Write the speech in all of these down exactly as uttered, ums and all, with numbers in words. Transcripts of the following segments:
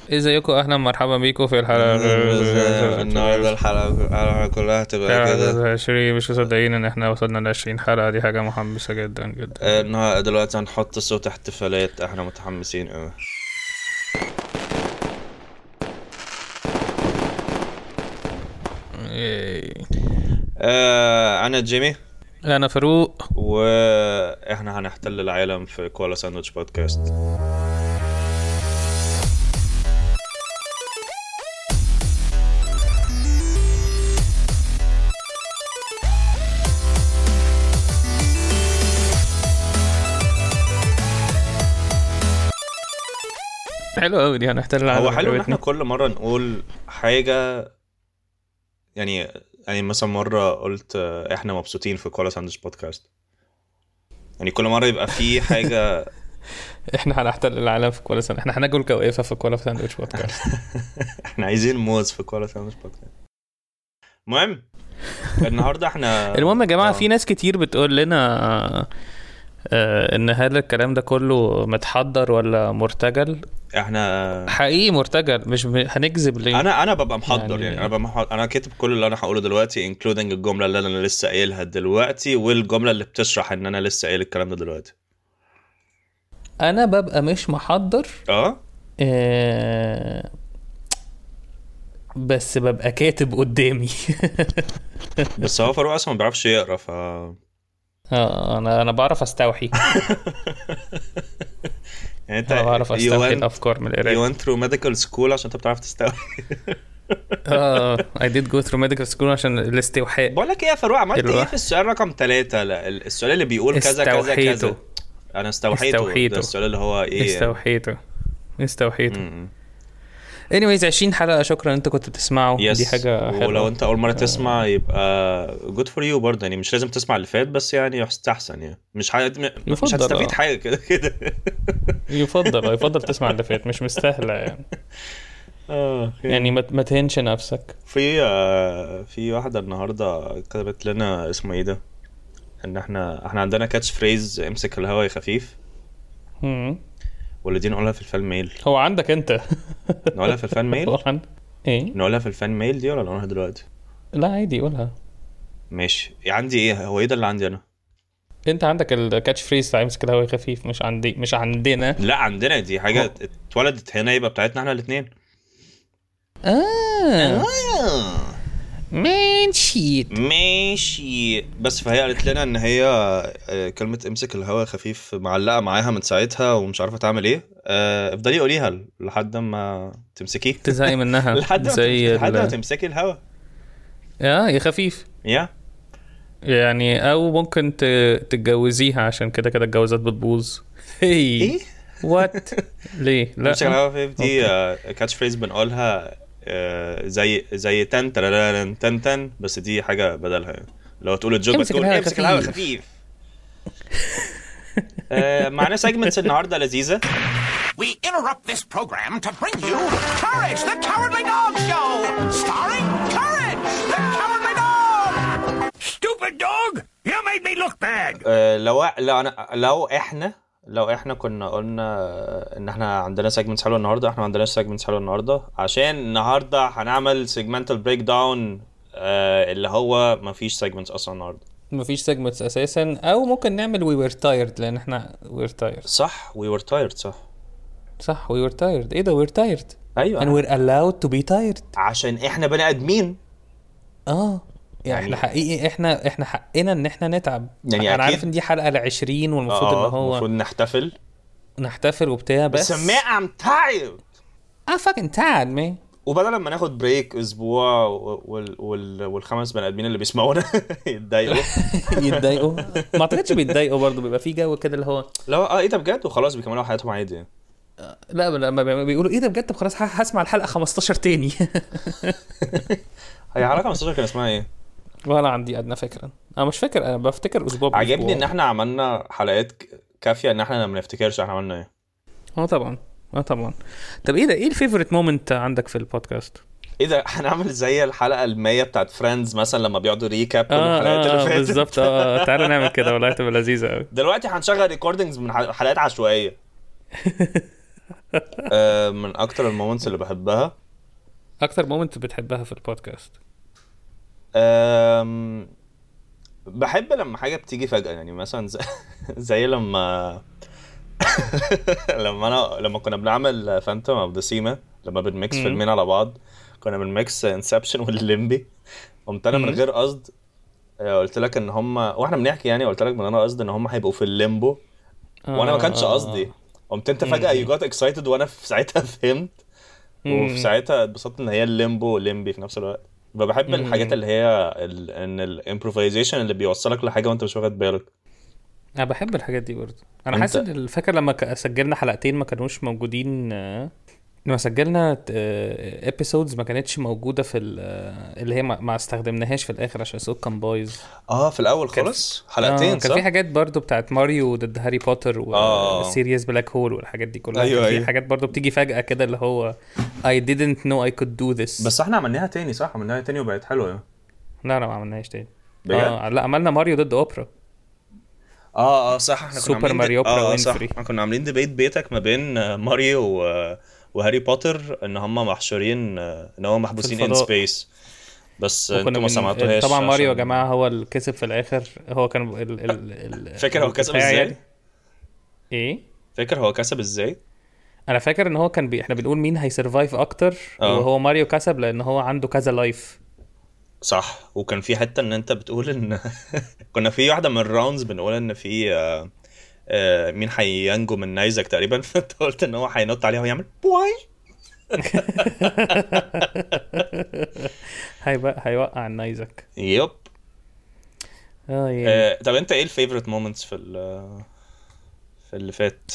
ازيكم؟ اهلا مرحبا بيكم في الحلقه النهارده الحلقه كلها هتبقى كده عشرين. مش مصدقين ان احنا وصلنا ل عشرين حلقه، دي حاجه محمسه جدا جدا. النهارده دلوقتي هنحط صوت احتفالات، احنا متحمسين قوي. آه انا جيمي، انا فاروق، واحنا هنحتل العالم في كوالا ساندويتش بودكاست. حلو قوي دي، هنحتل العالم. هو حلو ان احنا كل مره نقول حاجه، يعني يعني مثلا مره قلت احنا مبسوطين في كوالا ساندويتش بودكاست، يعني كل مره يبقى في حاجه. احنا هنحتل العالم في كوالا ساندويتش، احنا هناكل كوافه في كوالا ساندويتش بودكاست. احنا عايزين موز في كوالا ساندويتش بودكاست. المهم النهارده احنا المهم يا جماعه، في ناس كتير بتقول لنا آه ان هذا الكلام ده كله متحضر ولا مرتجل. احنا حقيقي مرتجل، مش هنكذب ليه. انا انا ببقى محضر، يعني, يعني انا ببقى محضر. انا كاتب كل اللي انا هقوله دلوقتي including الجمله اللي انا لسه قايلها دلوقتي، والجمله اللي بتشرح ان انا لسه قايل الكلام ده دلوقتي. انا ببقى مش محضر اه آه بس ببقى كاتب قدامي. بس هو فاروق اصلا ما بيعرفش يقرا، ف اه انا انا بعرف استوحي. يعني انت بعرف استوحي went... الافكار من القرايه. you went through medical school عشان انت بتعرف تستوحي. اه I did go through medical school عشان الاستوحاء. بقول لك ايه يا فاروق، عملت ايه في السؤال رقم ثلاثة؟ لا السؤال اللي بيقول كذا كذا كذا انا استوحيته. استوحيته. ده السؤال اللي هو ايه؟ استوحيته استوحيته anyways عشرين حلقة. شكرا انت كنت بتسمعوا. yes. دي حاجة حلوة. ولو انت اول مرة تسمع يبقى good for you برضه، يعني مش لازم تسمع اللي فات، بس يعني يستحسن، يعني مش ح... مش هتستفيد حاجة كده كده. يفضل يفضل تسمع اللي فات، مش مستاهلة يعني. اه يعني ما ما تهنش نفسك. في في واحدة النهاردة كتبت لنا اسمه ايه ده، ان احنا احنا عندنا كاتش فريز امسك الهوا يا خفيف. امم ولا دي نقولها في الفان ميل؟ هو عندك انت؟ نقولها في الفان ميل؟ ايه نقولها في الفان ميل دي ولا نقولها دلوقتي؟ لا عادي قولها. ماشي. عندي ايه؟ هو ايه ده اللي عندي انا؟ انت عندك الكاتش فريز بتاع امسك الهوا خفيف، مش عندي مش عندنا. لا عندنا، دي حاجه اتولدت هنا، يبقى بتاعتنا احنا الاثنين. اه ماشي ماشي. بس فهي قالت لنا ان هي كلمه امسك الهوا خفيف معلقه معاها من ساعتها ومش عارفه تعمل ايه. افضلي قوليها لحد ما تمسكيه، تزهقي منها. لحد زي لحد ما تمسكي الهوا. يا يا خفيف يا يعني. او ممكن تتجوزيها عشان كده كده الجوازات بتبوظ. هي ايه وات ليه؟ لا امسك الهوا خفيف دي كاتش فريز بنقولها زي زي تن ترارن تن تن، بس دي حاجه بدلها. لو تقول الجوك بتقول امسك الهوا خفيف. معنا سيجمنتس النهارده لذيذه. We interrupt this program to bring you Courage the Cowardly Dog Show, starring Courage the Cowardly Dog. Stupid dog, you made me look bad. uh, لو لو أنا لو احنا لو احنا كنا قلنا ان احنا عندنا سيجمنتس حلوه النهارده، احنا ما عندناش سيجمنتس حلوه النهارده عشان النهارده هنعمل سيجمنتال بريك داون، اللي هو ما فيش سيجمنتس اصلا النهارده. مفيش سيجمنتس اساسا. او ممكن نعمل وي وير تايرد، لان احنا وير تايرد. صح وي وير تايرد. صح صح وي وير تايرد. ايه ده وير تايرد؟ ايوه and we're allowed to be tired عشان احنا بني ادمين. اه يعني احنا حقيقي احنا احنا حقنا ان احنا نتعب. يعني انا عارف ان دي حلقه العشرين والمفروض آه ان هو المفروض نحتفل نحتفل وبتاع، بس بس ما I'm tired I'm fucking tired man. وبدل ما ناخد بريك اسبوع وال وال والخمس بني ادمين اللي بيسمعونا يتضايقوا يتضايقوا ما اعتقدش بيتضايقوا برضو، بيبقى في جو كده اللي هو لا اه ايه ده بجد، وخلاص بيكملوا حياتهم عادي. لا لما بيقولوا ايه ده بجد، طب خلاص هسمع الحلقه خمستاشر تاني. هي حلقه خمستاشر كان اسمها ايه؟ ولا عندي ادنى فكره. انا مش فاكر، انا بفتكر اسبوع بأسبوع. عجبني ان احنا عملنا حلقات كافيه ان احنا ما نفتكرش احنا عملنا ايه. اه طبعا اه طبعا. طب ايه ده، ايه الفيفوريت مومنت عندك في البودكاست؟ ايه ده هنعمل زي الحلقه المية بتاعت فريندز مثلا لما بيقعدوا ريكاب كل آه الحلقات آه اللي فاتت. بالظبط. اه تعالوا نعمل كده والله تبقى لذيذه قوي. دلوقتي هنشغل ريكوردينجز من حلقات عشوائيه. آه، من اكتر المومنتس اللي بحبها اكتر مومنت بتحبها في البودكاست؟ آم، بحب لما حاجه بتيجي فجاه، يعني مثلا زي, زي لما لما انا لما كنا بنعمل فانتوم اوف ذا سيما، لما بنميكس مم. فيلمين على بعض، كنا بنميكس انسبشن والليمبي. قمت انا من مم. غير قصد آه، قلت لك ان هم واحنا بنحكي، يعني قلت لك من غير قصد ان هم هيبقوا في الليمبو، وانا ما كانش قصدي. اه قمت انت فجأة you مم. got excited، وانا في ساعتها فهمت، وفي مم. ساعتها اتبسطت ان هي الليمبو والليمبي في نفس الوقت. فبحب الحاجات مم. اللي هي ال... ان الامبروفيزيشن اللي بيوصلك لحاجة وانت مش واخد بالك. انا بحب الحاجات دي برضه. انا حاسس انت ان الفكره لما ك- سجلنا حلقتين ما كانوش موجودين، آه، لما سجلنا ابيسودز ما كانتش موجوده في ال- آه، اللي هي ما ما استخدمناهاش في الاخر عشان الصوت كان بايظ. اه في الاول كان في... خالص اه حلقتين كان في صح. حاجات برضو بتاعت ماريو ضد هاري بوتر اه وسيريس بلاك هول والحاجات دي كلها. ايوه كان في ايوه. حاجات برضو بتيجي فجأة كده اللي هو I didn't know I could do this. بس احنا عملناها تاني صح، عملناها تاني وبقت حلوة لا لا ما عملناش تاني. بجد. اه لا عملنا ماريو ضد اوبرا. اه اه صح، احنا كنا سوبر عاملين ماريو دي... اوبرا اه صح، وينفري. احنا كنا عاملين ديبيت بيتك ما بين آه، ماريو و... وهاري بوتر، ان هم محشورين، آه، ان هم في محبوسين ان الفضاء. سبيس. بس وكنا انتوا ما من سمعتوهاش طبعا ماريو يا عشان جماعة هو اللي كسب في الاخر. هو كان ال ال ال فاكر هو كسب البتاع ازاي؟ يعني. ايه فاكر هو كسب ازاي؟ انا فاكر ان هو كان بي... احنا بنقول مين هيسرفايف اكتر، اه وهو ماريو كسب لان هو عنده كذا لايف. صح. وكان في حته ان انت بتقول ان كنا في واحده من الراوندز بنقول ان في آه، آه، مين هينجو من نيزك تقريبا، فانت قلت ان هو هينط عليها ويعمل بواي. هيبقى هيوقع النيزك. يب. اه يعني آه، طب انت ايه الفيفورت مومنتس في ال- في اللي فات؟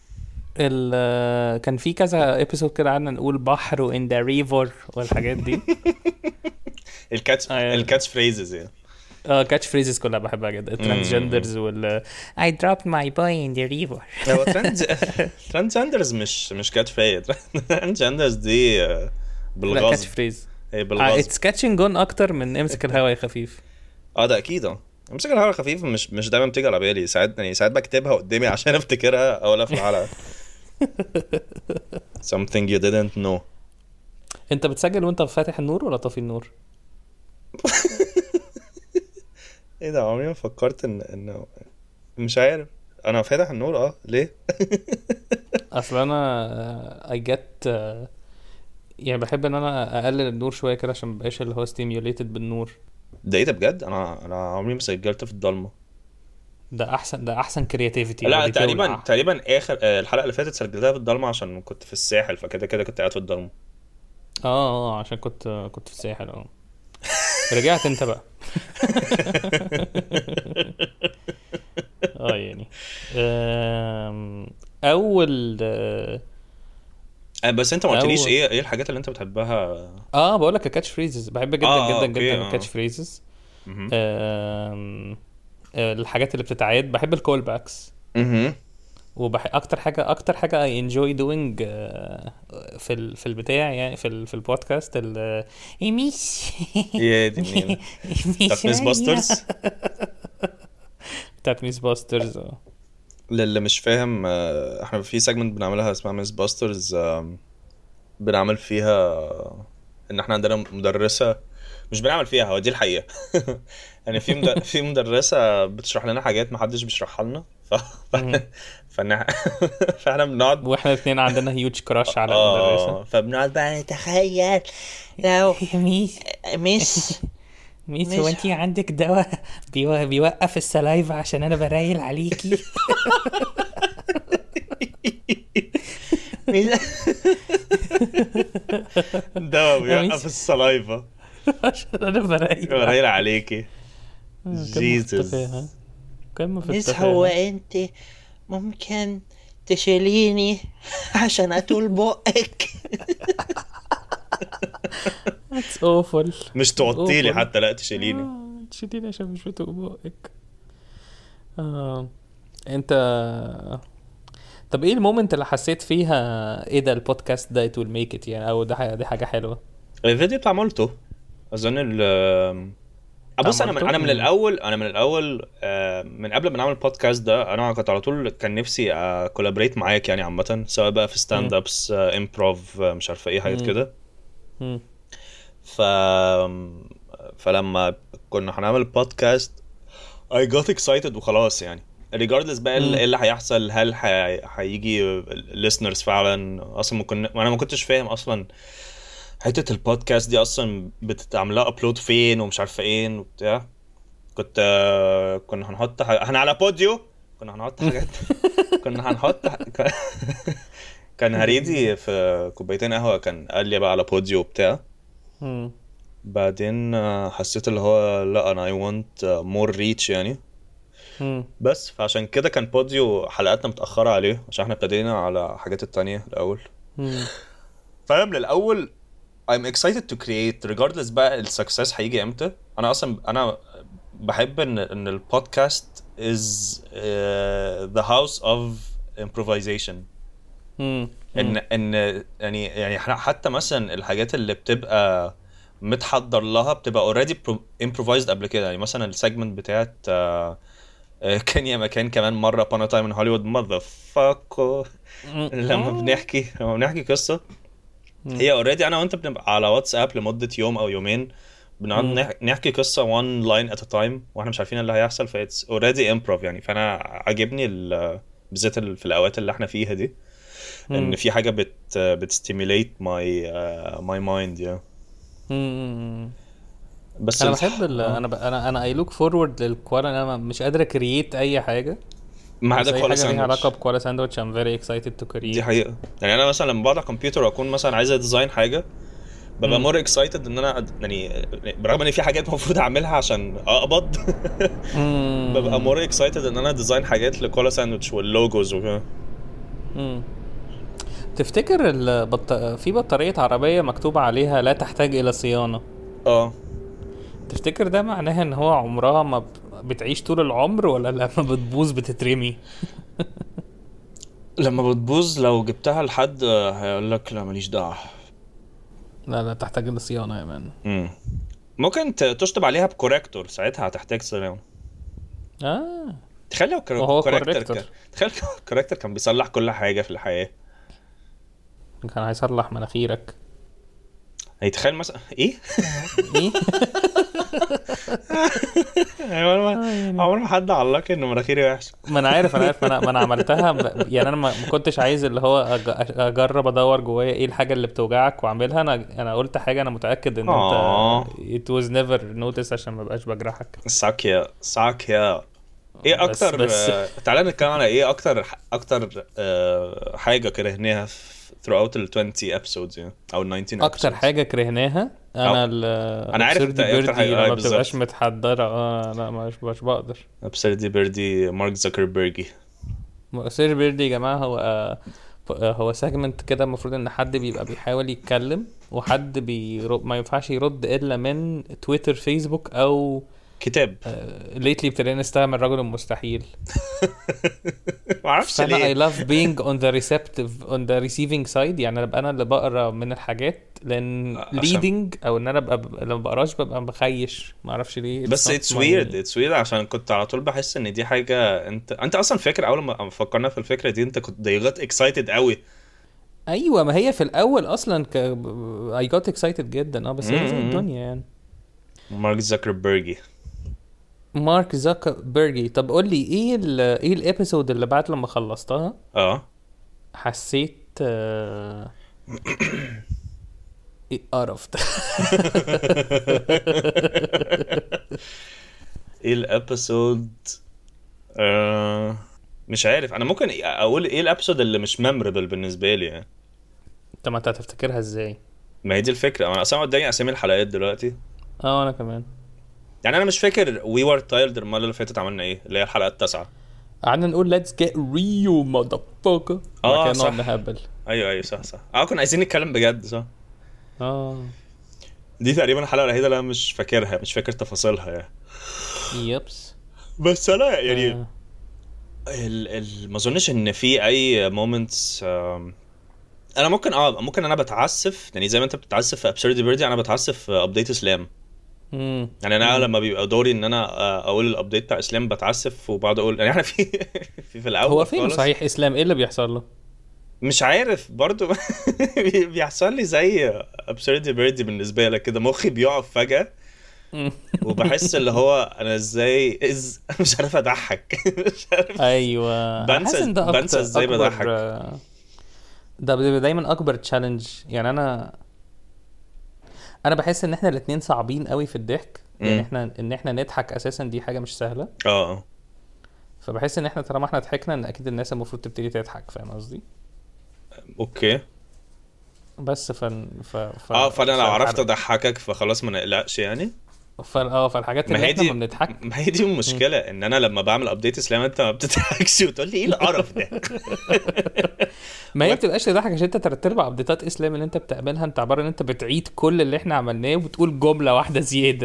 ال كان في كذا ابيسود كده قعدنا نقول بحر وان ذا ريفر والحاجات دي. الكاتش اه الكاتش فريزز يعني. اه كاتش فريزز كلها بحبها جدا. الترانسجندرز وال I dropped my boy in the river. هو ترانس ترانسجندرز مش مش كاتش فريز. ترانسجندرز دي آه، لا بالغصب. كاتش فريز. هي اه بالغصب. اتس كاتشنج جون اكتر من امسك الهوا يا خفيف. اه ده اكيد. اه امسك الهوا خفيف مش مش دايما بتيجي على بالي، ساعات يعني ساعات بكتبها قدامي عشان افتكرها اقولها في الحلقه. something you didn't know. انت بتسجل وانت فاتح النور ولا طافي النور؟ ايه ده، عمري ما فكرت ان انه مش عارف. انا فاتح النور اه ليه؟ اصل انا I get آه، يعني بحب ان انا اقلل النور شويه كده عشان مبقاش اللي هو stimulated بالنور. ده ايه ده بجد؟ انا انا عمري ما سجلت في الضلمه. ده احسن ده احسن كرياتيفيتي. لا تقريبا تقريبا اخر آه، الحلقه اللي فاتت سجلتها في الضلمه عشان كنت في الساحل، فكده كده كنت قاعد في الضلمه. اه اه عشان كنت كنت في الساحل. اه رجعت انت بقى. اه يعني آم، اول اه آه، بس انت ما قلتليش أول- ايه ايه الحاجات اللي انت بتحبها. اه بقول لك الكاتش فريزز بحب جدا آه، جدا أوكي، جدا آه. الكاتش فريزز. مهم. آم، آه، الحاجات اللي بتتعاد بحب الكول باكس. مهم. وبح اكتر حاجه اكتر حاجه اي انجوي دوينج في ال... في البتاع يعني في ال... في البودكاست ال ميس يا دي منين بتاعت ميس باسترز. بتاعت ميس باسترز. اه للي مش فاهم، آه، احنا في سيجمنت بنعملها اسمها ميس باسترز، بنعمل فيها ان احنا عندنا مدرسة، مش بنعمل فيها، هو دي الحقيقة. يعني في مد... في مدرسة بتشرح لنا حاجات محدش بيشرحها لنا، ف... مم. فاحنا فاحنا بنقعد واحنا الاثنين عندنا هيوج كراش على اه المدرسه. فبنقعد بقى نتخيل لو يا ميس مس ميس مش- هو انت عندك دواء بيو... بيوقف السلايفا عشان انا برايل عليكي. ده يا بيوقف ميس. السلايفا عشان انا برايل قليل عليكي. قمة في جيسس. التفاهة. قمة في مس هو التفاهة. انت ممكن تشيليني عشان اطول بقك؟ That's awful. مش توطيلي أوفر. حتى، لا تشيليني. آه، تشيليني عشان مش بتوق بقك. آه. انت طب ايه المومنت اللي حسيت فيها ايه ده البودكاست ده it will make it يعني، او ده ح- دي حاجة حلوة؟ الفيديو بتاع مولتو اظن ال بص انا من انا من الاول انا من الاول آه من قبل ما نعمل البودكاست ده انا كنت على طول كان نفسي كولابريت معاك يعني عامه سواء بقى في ستاند ابس امبروف مش عارفه ايه حاجات كده. ف فلما كنا هنعمل البودكاست I got excited وخلاص يعني regardless بقى ايه اللي هيحصل هل هيجي listeners فعلا اصلا ممكن انا ما كنتش فاهم اصلا حته البودكاست دي اصلا بتتعملها ابلود فين ومش عارفه ايه وبتاع. كنت كنا هنحط حاجة... احنا على بوديو كنا هنحط حاجات كنا هنحط كان هريدي في كوبايتين قهوه كان قال لي بقى على بوديو وبتاع. بعدين حسيت اللي هو لا انا I want more reach يعني. بس فعشان كده كان بوديو حلقاتنا متأخرة عليه عشان احنا ابتدينا على حاجات التانية الأول. فأنا من الأول I'm excited to create regardless بقى السكسس هيجي امتى. أنا أصلا أنا بحب إن إن البودكاست is uh, the house of improvisation. إن إن يعني يعني حتى مثلا الحاجات اللي بتبقى متحضر لها بتبقى already improvised قبل كده. يعني مثلا السيجمنت بتاعت uh, كان يا مكان كمان مرة upon a time in Hollywood motherfucker لما بنحكي لما بنحكي قصة هي already أنا وأنت بنبقى على واتساب لمدة يوم أو يومين بنقعد نحكي قصة one line at a time وإحنا مش عارفين اللي هيحصل ف it's already improv يعني. فأنا عجبني بالذات في الأوقات اللي إحنا فيها دي إن في حاجة بت بتستيميليت my uh, my mind yeah. بس انا بحب ال... انا ب... انا انا اي لوك فورورد للكوالا. انا مش قادر اكرييت اي حاجه ما عدا كوالا ساندويتش. ليها علاقه بكوالا ساندويتش ام فيري اكسايتد تو كرييت. دي حقيقه يعني انا مثلا لما بقعد على الكمبيوتر واكون مثلا عايز اديزاين حاجه ببقى مور اكسايتد ان انا يعني برغم ان في حاجات المفروض اعملها عشان اقبض ببقى مور اكسايتد ان انا ديزاين حاجات لكوالا ساندويتش واللوجوز وكده. تفتكر البط... في بطاريه عربيه مكتوب عليها لا تحتاج الى صيانه اه تفتكر ده معناها ان هو عمرها ما بتعيش طول العمر ولا لما بتبوظ بتترمي؟ لما بتبوظ لو جبتها لحد هيقول لك لا ماليش دعوه. لا لا تحتاج للصيانه يا مان. امم ممكن تشطب عليها بكوريكتور ساعتها هتحتاج صيانه. اه تخيل لو كوريكتور كان تخيل كوريكتور كان بيصلح كل حاجه في الحياه. كان هيصلح مناخيرك. هيتخيل مثلا ايه ايه عمر ما حد علق انه مناخيري وحشه. ما انا عارف انا عارف انا ما انا عملتها يعني انا ما كنتش عايز اللي هو اجرب ادور جوايا ايه الحاجه اللي بتوجعك واعملها. انا انا قلت حاجه انا متاكد ان انت it was never notice عشان ما بقاش بجرحك. ساكيا ساكيا ايه اكتر بس... تعالى نتكلم على ايه اكتر اكتر أه... حاجه كرهناها throughout ال twenty episodes يعني او ال nineteen episodes. اكتر حاجه كرهناها انا ال انا عارف انت اكتر حاجه ما بتبقاش متحضره. اه لا مش مش بقدر. ابسردي بيردي مارك زكربيرج. سير بيردي يا جماعه هو آه هو سيجمنت كده المفروض ان حد بيبقى بيحاول يتكلم وحد بيرد ما ينفعش يرد الا من تويتر فيسبوك او كتاب. ليتلي ابتدينا نستعمل الرجل المستحيل. ما اعرفش ليه. I love being on the receptive on the receiving side يعني ابقى انا اللي بقرا من الحاجات لان leading او ان انا ابقى لما بقراش ببقى بخيش ما اعرفش ليه. بس it's weird it's weird عشان كنت على طول بحس ان دي حاجه انت انت اصلا فاكر اول ما فكرنا في الفكره دي انت كنت ضيغت excited قوي. ايوه ما هي في الاول اصلا ك... I got excited جدا اه بس هي زي الدنيا يعني. مارك زكربيرج مارك زكربيرج. طب قول لي ايه ال ايه الابيسود اللي بعد لما خلصتها اه حسيت آه... ايه قرفت ايه الابيسود آه... مش عارف انا ممكن اقول ايه الابيسود اللي مش ميموربل بالنسبه لي يعني. انت ما هتفتكرها ازاي؟ ما هي دي الفكره انا اصلا قدامي اسامي الحلقات دلوقتي. اه انا كمان يعني انا مش فاكر وي ور تايلد المره اللي فاتت عملنا ايه اللي هي الحلقه التاسعه. قعدنا نقول let's get real motherfucker. اه صح نهبل. ايوه ايوه صح صح اه كنا عايزين نتكلم بجد صح. اه دي تقريبا الحلقه الوحيده اللي انا مش فاكرها مش فاكر تفاصيلها يعني. يبس بس انا يعني آه. ال ال ما اظنش ان في اي مومنتس آه انا ممكن اه ممكن انا بتعسف يعني زي ما انت بتتعسف في ابسردي بيردي انا بتعسف في ابديت اسلام. امم يعني انا لما بيبقى دوري ان انا اقول الابديت بتاع اسلام بتعسف وبعد اقول يعني احنا في في, في الاول هو فين خالص صحيح اسلام؟ ايه اللي بيحصل له؟ مش عارف برضو. بيحصل لي زي absurdity birdie بالنسبه لك كده، مخي بيقف فجاه وبحس اللي هو انا ازاي إز... مش عارف اضحك. مش عارف. ايوه أنا حاسس بنسى إن ده أكتر بنسى ازاي أكبر- بضحك. ده بيبقى دايما اكبر تشالنج. يعني انا انا بحس ان احنا الاتنين صعبين قوي في الضحك. يعني مم. احنا ان احنا نضحك اساسا دي حاجه مش سهله. اه فبحس ان احنا طالما احنا ضحكنا ان اكيد الناس المفروض تبتدي تضحك. فاهم قصدي؟ اوكي. بس فن ف... ف... اه فانا لو عرفت فالحر- اضحكك فخلاص ما نقلقش يعني. ف... اه فالحاجات ما اللي هي احنا دي ما بنضحك. ما هي دي المشكله، ان انا لما بعمل ابديت اسلام انت ما بتضحكش وتقول لي ايه القرف ده. ما هي بتبقاش تضحك عشان انت تلات ارباع ابديتات اسلام اللي انت بتعملها انت عباره ان انت بتعيد كل اللي احنا عملناه وبتقول جمله واحده زياده.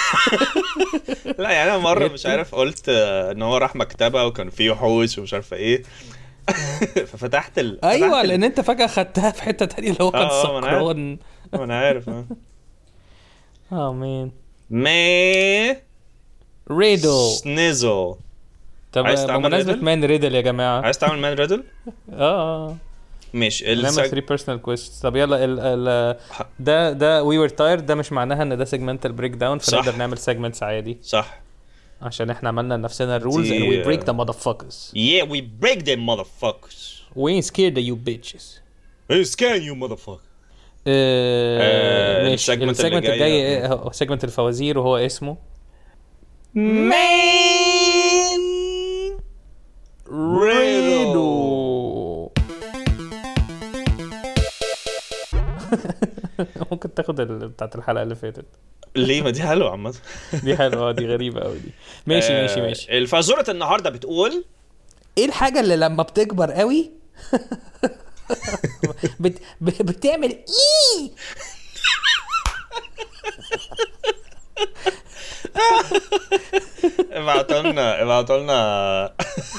لا يعني انا مره مش عارف قلت آه، ان هو راح مكتبه وكان فيه وحوش ومش عارفه ايه. ففتحت ال ايوه فتحت ال- لان انت فجاه خدتها في حته تانية اللي هو كان آه، آه، ما أنا عارف. سكران. ما انا عارف. اه اه مان ما ريدل. سنيزل. طب عايز تعمل بمناسبه ريدل؟ مان ريدل يا جماعه. عايز تعمل مان ريدل؟ اه ماشي. نعمل السج... ثلاثة بيرسونال كويستشنز. طب يلا ال ال ده ده وي وير تايرد ده مش معناها ان ده سيجمنتال بريك داون. صح. فنقدر نعمل سيجمنتس عادي صح. عشان احنا عملنا لنفسنا الرولز and دي- we break the motherfuckers. Yeah we break them motherfuckers. we ain't scared of you bitches. Hey scan you motherfucker. آه، آه، ماشي. السيجمنت اللي السيجمنت جاي- الجاي إيه؟ هو سيجمنت الفوازير وهو اسمه مان ريدو. ممكن تاخد ال- بتاعت الحلقة اللي فاتت ليه؟ ما دي حلوه عامه. دي حلوة. دي غريبة قوي دي. ماشي ماشي ماشي. آه، الفازوره النهارده بتقول ايه الحاجة اللي لما بتكبر قوي بت... ب- بتعمل ايه؟ ابعتوا لنا ابعتوا لنا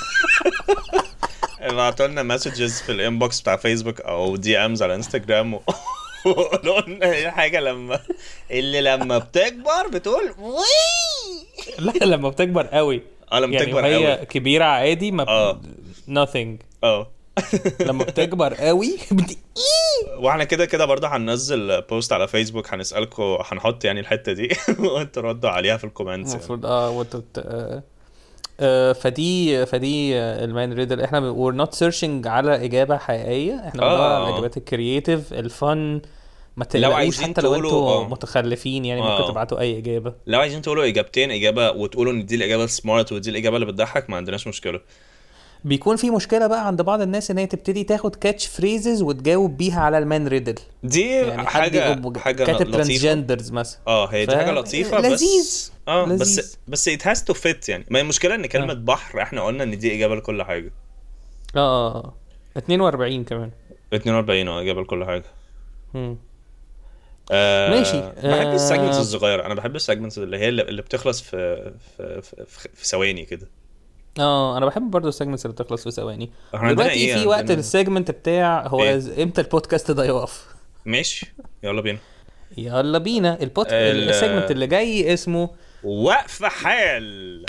ابعتوا لنا مسجز في الانبوكس بتاع فيسبوك او دي امز على انستجرام و- وقولوا لنا ايه الحاجه لما اللي لما بتكبر بتقول وي. لا لما بتكبر قوي. اه لما يعني بتكبر وهي قوي. كبيرة عادي ما اه. ب... nothing. اه لما بتكبر قوي بت... واحنا كده كده برضه هننزل بوست على فيسبوك هنسالكم، هنحط يعني الحته دي وانتوا ردوا عليها في الكومنتس يعني. المفروض اه وانتوا ت- آه، آه، فدي فدي آه، المان ريدل. احنا وير نوت سيرشنج على اجابه حقيقيه. احنا بندور آه. على الاجابات الكرييتيف الفن. ما لو تقلقوش عايزين حتى لو تقولوا- انتوا آه. متخلفين يعني آه. ممكن تبعتوا اي اجابه. لو عايزين تقولوا اجابتين، اجابه وتقولوا ان دي الاجابه السمارت ودي الاجابه اللي بتضحك، ما عندناش مشكله. بيكون في مشكله بقى عند بعض الناس ان هي تبتدي تاخد كاتش فريزز وتجاوب بيها على المان ريدل. دي يعني حد حاجه يبقى حاجه كاتب لطيفه. ترانسجندرز مثلا. اه هي دي ف- حاجه لطيفه لذيذ. بس اه لذيذ. بس بس it has to fit يعني. ما هي المشكله ان كلمه آه. بحر احنا قلنا ان دي اجابه لكل حاجه. اه اه اه اتنين واربعين كمان. اتنين واربعين اه اجابه لكل حاجه. مم. آه ماشي. بحب آه. السيجمنتس الصغيره. انا بحب السيجمنتس اللي هي اللي اللي بتخلص في في في, في, في ثواني كده. اه انا بحب برضو السيجمنتس اللي بتخلص في ثواني. احنا عندنا دلوقتي ايه؟ في وقت عندنا- السيجمنت بتاع هو إيه؟ إز- امتى البودكاست ده يقف. ماشي يلا بينا. يلا بينا. البود ال- السيجمنت اللي جاي اسمه وقف حال.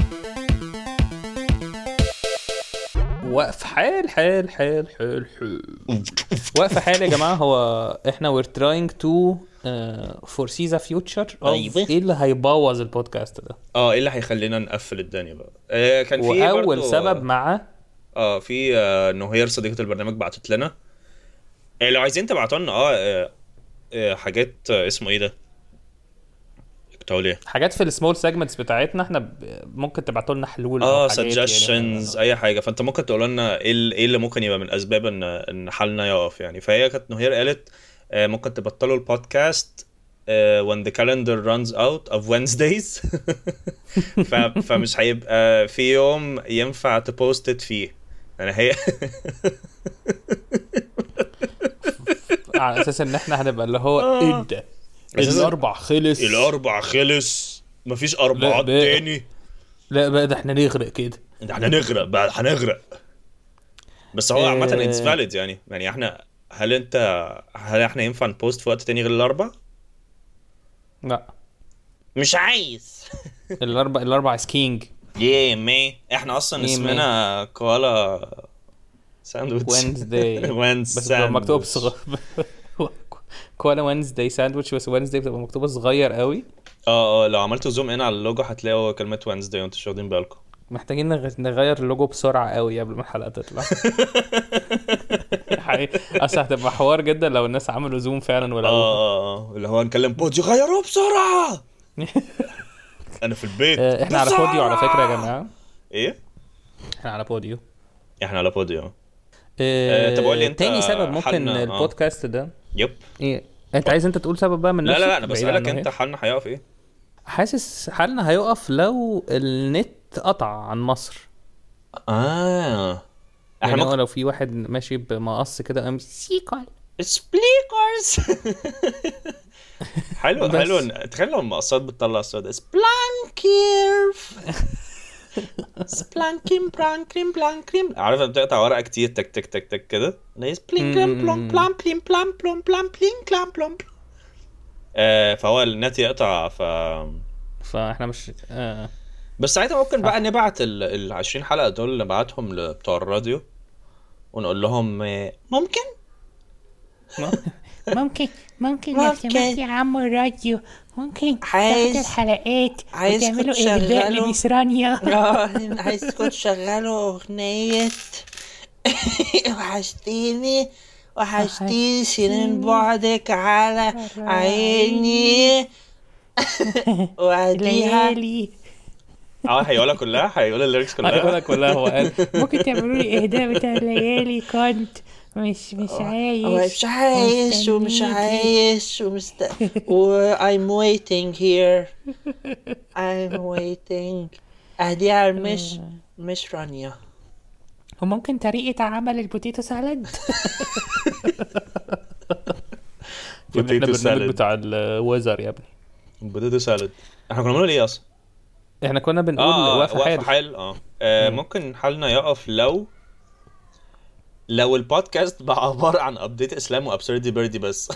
وقف حال حال حال حال حال. وقف حال يا جماعه. هو احنا we're trying to uh, foresee the future of أيوة. ايه اللي هيبوظ البودكاست ده. اه ايه اللي هيخلينا نقفل الدنيا بقى؟ آه كان في واول برضو- سبب مع اه في آه نهير صديقة البرنامج بعتت لنا. آه لو عايزين تبعتوا لنا اه, آه, آه حاجات آه اسمه ايه ده؟ كنت هقول ايه؟ حاجات في السمول سيجمنتس بتاعتنا. احنا ب- ممكن تبعتوا لنا حلول اه أو حاجات suggestions يعني. اي حاجه. فانت ممكن تقول لنا ايه ال- ايه اللي ممكن يبقى من اسباب ان ان حالنا يقف يعني. فهي كانت نهير قالت آه ممكن تبطلوا البودكاست آه when the calendar runs out of Wednesdays. ف فمش هيبقى في يوم ينفع تبوستت فيه يعني. هي على اساس ان احنا هنبقى اللي هو ايه ده أساساً- الاربع خلص. الاربع خلص مفيش اربعات لا بقى. تاني. لا بقى ده احنا نغرق كده. ده احنا نغرق بقى هنغرق. بس هو عامة آه. اتس فاليد يعني. يعني احنا هل انت هل احنا ينفع نبوست في وقت تاني غير الاربع؟ لا مش عايز. الاربع الاربع سكينج ياه مي احنا اصلا اسمنا كوالا ساندويتش وينزداي بس بتبقى مكتوب صغير. كوالا وينزداي ساندويتش بس وينزداي بتبقى مكتوبه صغير قوي. اه اه لو عملتوا زوم ان على اللوجو هتلاقوا كلمه وينزداي وانتوا مش واخدين بالكم. محتاجين نغير اللوجو بسرعه قوي قبل ما الحلقه تطلع. حقيقي اصل هتبقى حوار جدا لو الناس عملوا زوم فعلا ولا اه اه اللي هو نكلم بوديو غيروه بسرعه. انا في البيت. احنا على بوديو على فكره يا جماعه. ايه احنا على بوديو احنا على بوديو. اه طب قول لي انت تاني سبب ممكن البودكاست ده. يب ايه انت عايز انت تقول سبب بقى من نفسك؟ لا لا لا انا بسالك انت حالنا هيقف ايه. حاسس حالنا هيقف لو النت قطع عن مصر. اه احنا يعني ممكن... لو في واحد ماشي بمقص كده ام سيكول سبليكرز. حلو حلو تخيل لو المقصات بتطلع الصوت سبلانكيرف. سبلانكيم برانكريم بلانكريم. عارف بتقطع ورقه كتير تك تك تك تك كده نايس بلينكريم بلوم بلام بليم بلام بلوم بلام بلين كلام بلوم. آه فهو النت يقطع ف فاحنا مش آه. بس ساعتها ممكن بقى نبعت ال عشرين حلقه دول نبعتهم لبتوع الراديو ونقول لهم ممكن ممكن ممكن لو سمحت يا عم الراديو ممكن تاخد الحلقات وتعملوا إهداء لميس رانيا. عايزكم تشغلوا أغنية وحشتيني وحشتيني سنين بعدك على عيني وعديها. اه هيقولها كلها هيقول الليركس كلها هيقولها كلها. هو قال ممكن تعملوا لي إهداء بتاع الليالي كنت مش مش عايش مش عايش ومش عايش ومست و I'm waiting here I'm waiting. أهديها مش مش رانيا. وممكن طريقة عمل البوتيتو سالاد. بوتيتو سالاد بتاع الوزر يا ابني. بوتيتو سالاد احنا كنا بنقول ايه اصلا؟ احنا كنا بنقول آه وقف حال. حال اه, آه ممكن حالنا يقف لو لو البودكاست بقى عبارة عن ابديت اسلام وابسردي بيردي بس.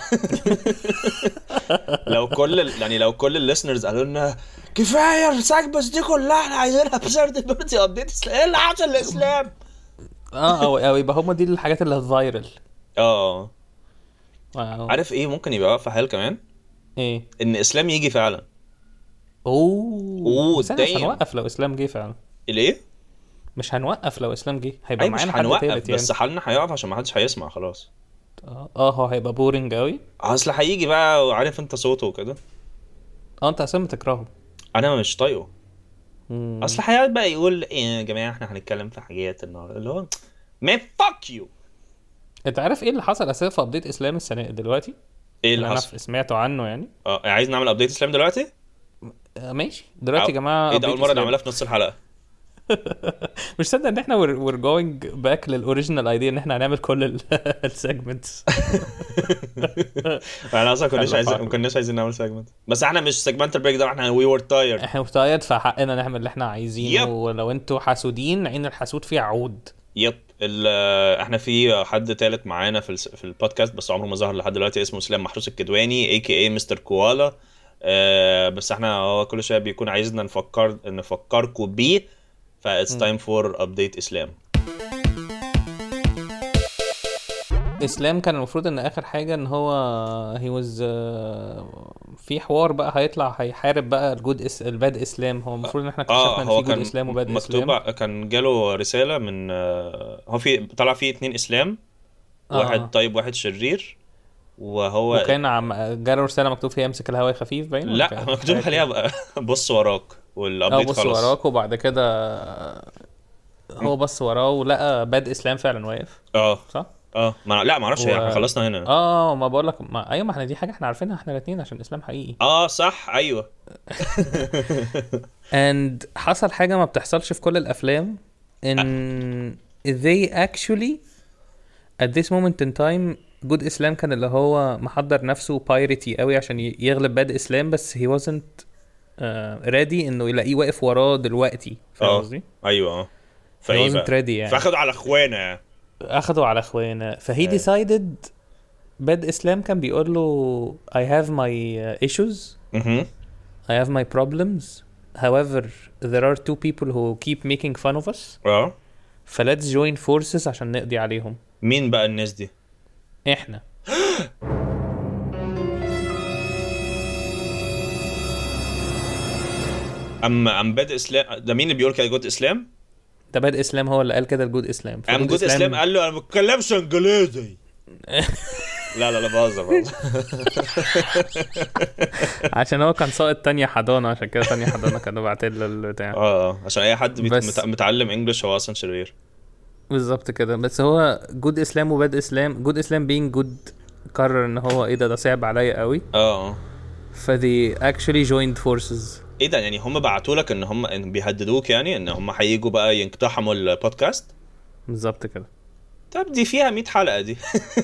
لو كل يعني لو كل الليسنرز قالوا لنا كفايه الساجبس دي كلها احنا عايزين ابسردي بيردي ابديت اسلام. ايه اللي حصل للاسلام؟ اه او او يبقى هم دي الحاجات اللي هتفايرل. اه عارف ايه ممكن يبقى في حال كمان ايه ان اسلام يجي فعلا. اوه بس مش هنوقف لو اسلام جه فعلا. ليه مش هنوقف لو اسلام جه هيبقى معانا حد تالت يعني. بس حالنا هيقف عشان ما حدش هيسمع خلاص. اه اه هو هيبقى بورينج قوي. اصل هيجي بقى وعارف انت صوته وكده. اه انت اصلا بتكرهه. انا مش طايقه. اصل هيقعد بقى يقول ايه يا جماعه احنا هنتكلم في حاجات النهارده اللي هو ما فاك يو. انت عارف ايه اللي حصل اساسا في ابديت اسلام السنه دلوقتي؟ ايه اللي حصل؟ انا سمعته عنه يعني. اه عايز نعمل ابديت اسلام دلوقتي؟ آه ماشي دلوقتي يا جماعه. ايه ده اول مره نعملها في نص الحلقه. مش صدق ان احنا we're going back للاوريجينال ايديا ان احنا هنعمل كل السيجمنتس. احنا اصلا كناش عايزين ما كناش عايزين نعمل سيجمنت بس احنا مش سيجمنت بريك داون احنا وي ور تايرد. احنا تايرد فحقنا نعمل اللي احنا عايزينه. ولو انتوا حاسودين عين الحسود فيه عود. يب احنا في حد ثالث معانا في في البودكاست بس عمره ما ظهر لحد دلوقتي اسمه اسلام محروس الكدواني اي كي اي مستر كوالا. أه بس احنا هو كل شويه بيكون عايزنا نفكر نفكركم بيه ف it's time for update اسلام. اسلام كان المفروض ان اخر حاجه ان هو he was uh, في حوار بقى هيطلع هيحارب بقى الجود اس الباد اسلام. هو المفروض ان احنا اكتشفنا ان في جود اسلام وباد اسلام. مكتوب كان جاله رساله من هو في طلع فيه اتنين اسلام واحد آه. طيب واحد شرير وهو وكان عم جاله رساله مكتوب فيها امسك الهواء خفيف باين. لا مكتوب عليها بص وراك والابديت خلاص. بص وراك وبعد كده هو بص وراه ولقى باد اسلام فعلا واقف. اه صح اه ما لا ما اعرفش و... احنا خلصنا هنا. اه ما بقول لك ما... ايوه ما احنا دي حاجه احنا عارفينها احنا الاثنين عشان الاسلام حقيقي. اه صح ايوه. and حصل حاجه ما بتحصلش في كل الافلام ان they actually at this moment in time جود اسلام كان اللي هو محضر نفسه بايرتي قوي عشان يغلب باد اسلام بس he wasn't uh, ready انه يلاقيه واقف وراه دلوقتي. فاهم قصدي؟ ايوه اه فهي wasn't ready يعني. فاخدوا على اخوانا اخدوا على اخوانا فهي decided باد اسلام كان بيقول له I have my issues اها I have my problems. However, there are two people who keep making fun of us. اه ف let's join forces عشان نقضي عليهم. مين بقى الناس دي؟ احنا. اما ام بادئ اسلام ده مين اللي بيقول كده؟ جود اسلام؟ ده بادئ اسلام هو اللي قال كده الجود اسلام. ام جود اسلام قال له انا ما بتكلمش انجليزي. لا لا لا بهزر بهزر. عشان هو كان ساقط تانية حضانة، عشان كده تانية حضانة كانوا باعتين له البتاع. اه اه عشان اي حد بيت... بس- متعلم انجلش هو اصلا شرير. بالظبط كده. بس هو جود اسلام وباد اسلام، جود اسلام being جود قرر ان هو ايه ده ده صعب عليا قوي، اه اه فدي actually joined forces. ايه ده؟ يعني هم بعتوا لك ان هم إن بيهددوك يعني ان هم هييجوا بقى ينقتحموا البودكاست؟ بالظبط كده. طب دي فيها مية حلقة دي.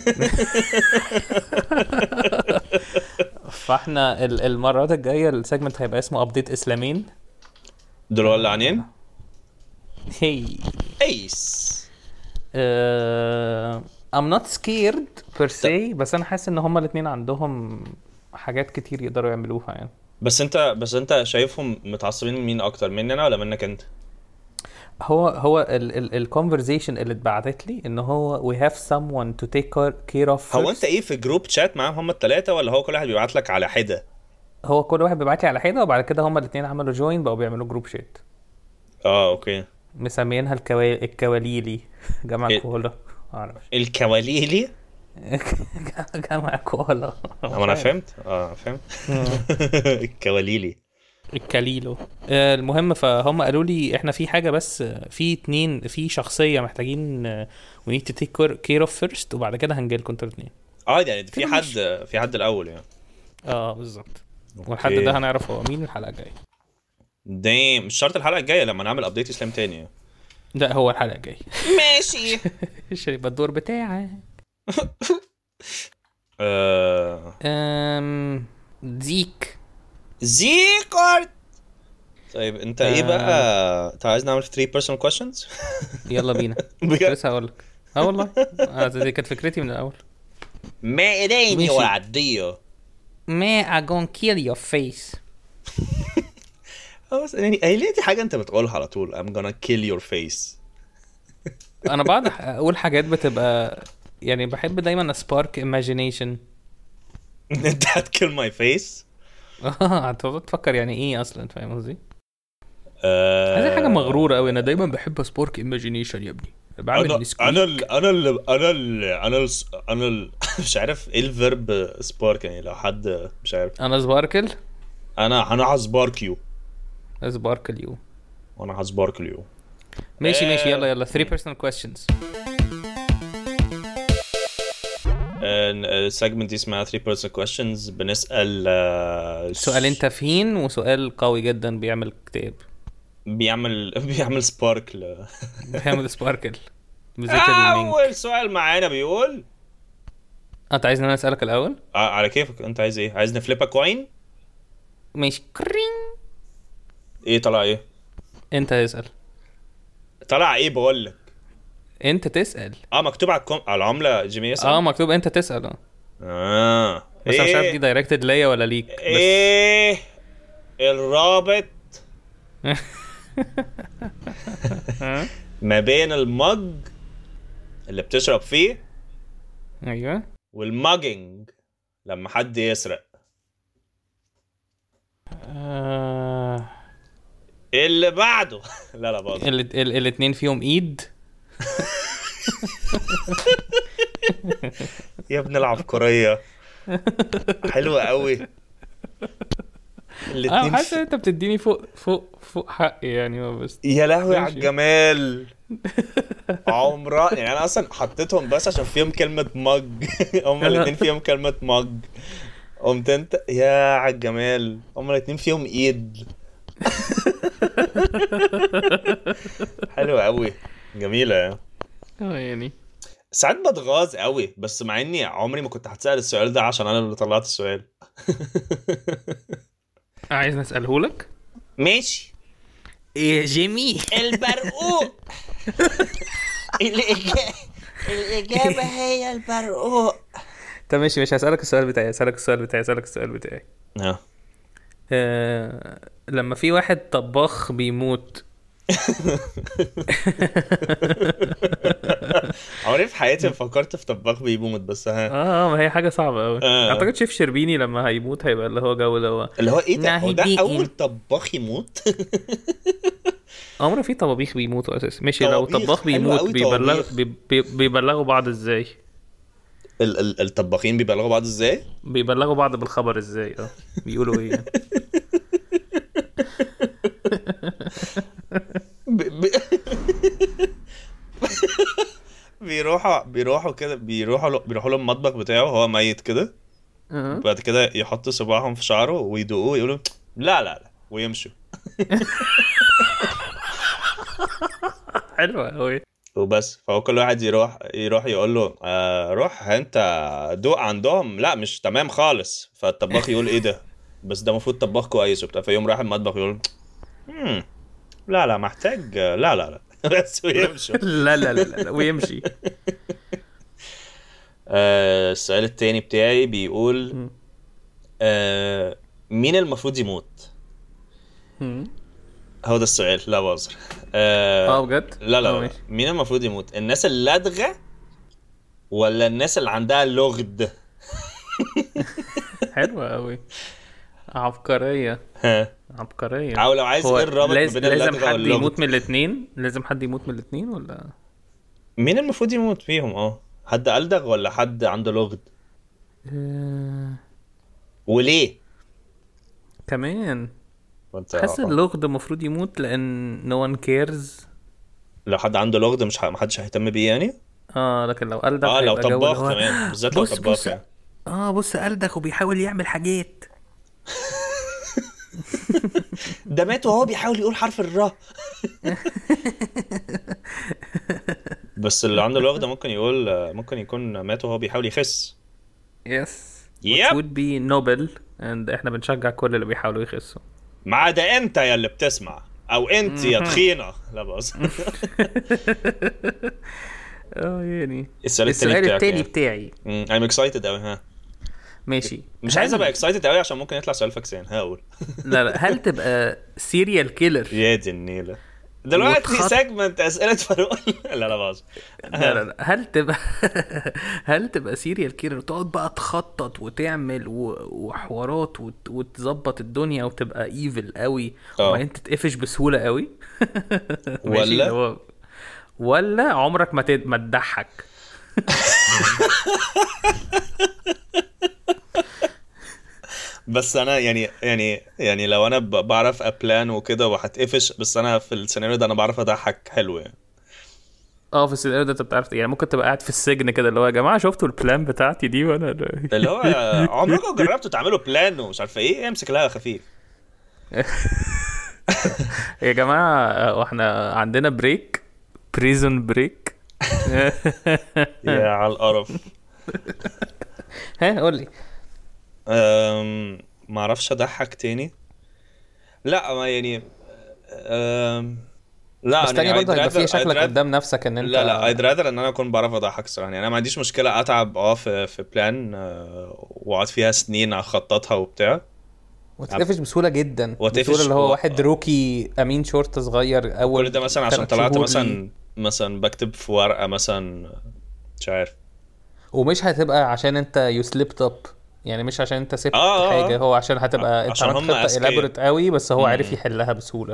فاحنا ال- المرات الجاية السيجمنت هيبقى اسمه ابديت اسلامين. دول ولا عنين؟ هي ايس. uh, I'm not scared per se، بس انا حاسس ان هما الاتنين عندهم حاجات كتير يقدروا يعملوها يعني. بس انت بس انت شايفهم متعصبين من مين اكتر، مني انا ولا منك انت؟ هو هو ال ال الكونفرزيشن اللي اتبعتت لي ان هو we have someone to take care of first. هو انت ايه في جروب شات معاهم هم الثلاثه، ولا هو كل واحد بيبعت لك على حده؟ هو كل واحد بيبعت لي على حده، وبعد كده هما الاتنين عملوا جوين بقوا بيعملوا جروب شات اه اوكي. مسمينها الكوا... الكواليلي جمع إيه؟ كولا. معرفش. الكواليلي. جمع كولا. هو انا فهمت اه فهمت. الكواليلي الكاليلو. آه، المهم فهم قالوا لي احنا في حاجه، بس في اتنين في شخصيه محتاجين آه، we need to take care of first، وبعد كده هنجيلكم انتوا الاتنين. اه يعني في كده حد مش- في حد الاول يعني. اه بالظبط. أوكي. والحد ده هنعرف هو مين الحلقه الجايه. دايم مش شرط الحلقه الجايه لما نعمل ابديت اسلام تاني يعني. ده هو الحلقه الجايه. ماشي. مش هيبقى الدور بتاعك. آه... امم زيك. زيكورت. طيب انت ايه آه. بقى؟ انت عايز نعمل three personal questions؟ يلا بينا. بجد؟ لسه هقول لك. اه والله آه، دي كانت فكرتي من الاول. ما إليني ماشي. وعديه. ما I gonna kill your face. اه بس يعني هي ليه دي حاجه انت بتقولها على طول I'm gonna kill your face. انا بعد اقول حاجات بتبقى يعني بحب دايما سبارك imagination. انت هتkill my face؟ اه هتقعد تفكر يعني ايه اصلا، فاهم قصدي؟ آه... هذه حاجه مغروره قوي. انا دايما بحب سبارك imagination يا ابني. بعمل انا نسكويك. انا ال انا ال انا ال انا ال انا ال مش عارف ايه الفيرب سبارك يعني لو حد مش عارف. انا سباركل. انا انا هسبارك يو. سباركل يو. وانا هسبارك يو. ماشي آه. ماشي يلا يلا three personal questions. السيجمنت دي اسمها three personal questions. بنسأل آه، سؤالين تافهين وسؤال قوي جدا بيعمل كتاب. بيعمل بيعمل سبارك ل... بيعمل سباركل بذكر المينك. اول سؤال معانا بيقول انت عايزني انا اسالك الاول؟ آه، على كيفك. انت عايز ايه؟ عايز نفليبا كوين؟ ماشي. كرين. ايه طلع ايه؟ انت اسال. طلع ايه بقول لك؟ انت تسال. اه مكتوب على الكم... على العمله جيمي يسأل. اه مكتوب انت تسال. اه اه بس انا مش عارف دي دايركتد ليا ولا ليك. بس ايه الرابط ما بين المج اللي بتشرب فيه ايوه. والماجنج لما حد يسرق؟ آه... اللي بعده. لا لا باظ. ال... ال... الاتنين فيهم ايد. يا ابن العبقرية حلوة قوي. اه الاتنين حاسس في... انت بتديني فوق فوق فوق حقي يعني. ما بس يا لهوي على ماشي. الجمال. عمرها يعني انا اصلا حطيتهم بس عشان فيهم كلمة مج. هما الاتنين فيهم كلمة مج. قمت انت يا على الجمال. هما الاتنين فيهم ايد. حلوة قوي جميلة يعني. اه يعني ساعات بتغاظ قوي بس مع اني عمري ما كنت هتسأل السؤال ده عشان انا اللي طلعت السؤال. عايز نساله لك. ماشي. ايه جيمي البرقوق. الإجابة الإجابة هي البرقوق. طب ماشي مش هسألك السؤال بتاعي. هسألك السؤال بتاعي. هسألك السؤال بتاعي. اه آه... لما في واحد طباخ بيموت. عمري في حياتي فكرت في طباخ بيموت بس ها اه ما هي حاجه صعبه قوي. آه. اعتقد شيف شربيني لما هيموت هيبقى اللي هو جو اللي هو اللي هو ايه ده, هو ده ناهدين. اول طباخ يموت. عمره في طبابيخ بيموتوا اساسا. ماشي لو طبابيخ، طباخ حلو بيموت قوي بيبلغ طبابيخ. بي... بي... بيبلغوا بعض ازاي؟ ال- ال- الطباخين بيبلغوا بعض ازاي؟ بيبلغوا بعض بالخبر ازاي؟ اه بيقولوا ايه يعني؟ ب... ب... بيروحوا بيروحوا كده بيروحوا له... بيروحوا له المطبخ بتاعه هو ميت كده. اه بعد كده يحطوا صباعهم في شعره ويدوقوه ويقولوا لا لا لا ويمشوا. حلوه قوي. وبس. فهو كل واحد يروح يروح يقول له آه روح انت دوق عندهم لا مش تمام خالص. فالطباخ يقول ايه ده بس ده المفروض طباخ كويس وبتاع. فيوم راح المطبخ يقول امم لا لا محتاج لا لا لا بس ويمشوا. لا لا لا لا ويمشي. آه السؤال التاني بتاعي بيقول آه مين المفروض يموت؟ هو ده السؤال. لا بهزر. اه آه بجد؟ لا لا, آه، لا. ماشي. مين المفروض يموت؟ الناس اللدغة ولا الناس اللي عندها لغد؟ حلوه قوي. عبقريه ها عبقريه. او لو عايز هو ايه الرابط ما لاز... بين لازم اللدغة حد واللغد؟ يموت من الاثنين؟ لازم حد يموت من الاثنين ولا مين المفروض يموت فيهم؟ اه حد ألدغ ولا حد عنده لغد؟ آه... وليه؟ كمان وانت حاسس اللغد المفروض يموت لان no one cares. لو حد عنده لغد مش ه... محدش هيهتم بيه يعني. اه لكن لو قلدك اه لو هيبقى جو اللي طباخ هو كمان بالذات لو بص طباخ بص يعني. اه بص قلدك وبيحاول يعمل حاجات. ده مات وهو بيحاول يقول حرف الراء. بس اللي عنده لغد ممكن يقول ممكن يكون مات وهو بيحاول يخس. يس Yep. which would be noble and احنا بنشجع كل اللي بيحاولوا يخسوا ما عدا انت يا اللي بتسمع او انت يا تخينه. لا بص. اه يعني السؤال التاني السؤال بتاعك التاني يعني. بتاعي. امم I'm excited قوي. ها ماشي. مش عايز ابقى excited قوي عشان ممكن يطلع سؤال فاكسان. هقول لا لا هل تبقى سيريال كيلر؟ يا دي النيله دلوقتي وتخط- سيجمنت اسئله فاروق. لا لا باظ. لا لا لا هل تبقى هل تبقى سيريال كيلر وتقعد بقى تخطط وتعمل و... وحوارات وت... وتظبط الدنيا وتبقى ايفل قوي اه. وبعدين تتقفش بسهولة قوي؟ ماشي، ولا؟ اللي هو ولا عمرك ما تد... ما تضحك؟ بس انا يعني يعني يعني لو انا ب- بعرف ابلان وكده وهتقفش بس انا في السيناريو ده انا بعرف اضحك حلو يعني. اه في السيناريو ده انت بتعرف يعني ممكن تبقى قاعد في السجن كده اللي هو يا جماعه شفتوا البلان بتاعتي دي وانا اللي هو عمركم جربتوا تعملوا بلان ومش عارف ايه امسك لها خفيف. يا جماعه واحنا عندنا بريك بريزون بريك. يا على القرف. ها قول لي. أم... ما اعرفش اضحك تاني. لا ما يعني أم... لا بس تاني يعني برضه I'd هيبقى فيه rather- شكلك I'd rather- قدام نفسك ان انت لا لا I'd rather ان انا اكون بعرف اضحك الصراحه يعني. انا ما عنديش مشكله اتعب اه في في بلان واقعد فيها سنين اخططها وبتاع وتقفش بسهوله جدا. وتقفش بسهوله اللي هو و- واحد روكي امين شرطه صغير اول كل ده مثلا عشان تلات طلعت شهور مثلا ليه. مثلا بكتب في ورقه مثلا مش عارف. ومش هتبقى عشان انت يو سليبت اب يعني مش عشان انت سبت آه، آه، حاجه آه. هو عشان هتبقى انت عشان عملت هم خطه أذكياء. elaborate قوي بس هو مم. عارف يحلها بسهوله.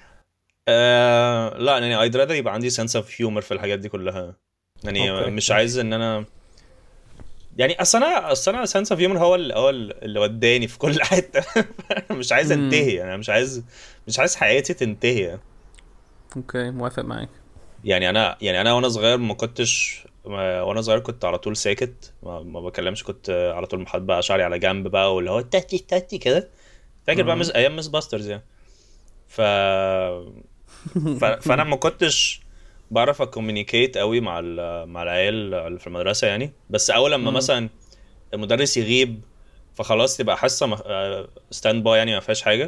آه لا يعني I'd rather يبقى عندي sense of humor في الحاجات دي كلها يعني. أوكي. مش عايز ان انا يعني اصل انا اصل انا sense of humor هو اللي هو اللي وداني في كل حته. مش عايز مم. انتهي يعني. مش عايز مش عايز حياتي تنتهي اوكي موافق معاك. يعني. انا يعني انا وانا صغير ما كنتش ما- وانا صغير كنت على طول ساكت ما, ما بكلمش. كنت على طول محط بقى شعري على جنب بقى واللي هو تاتي تاتي كده. فاكر بقى مز... ايام مس باسترز يعني. ف... ف... فانا ما كنتش بعرف اكومينيكيت قوي مع ال... مع العيال اللي في المدرسه يعني. بس اول لما مثلا المدرس يغيب فخلاص تبقى حصه ستاند باي يعني ما فيهاش حاجه.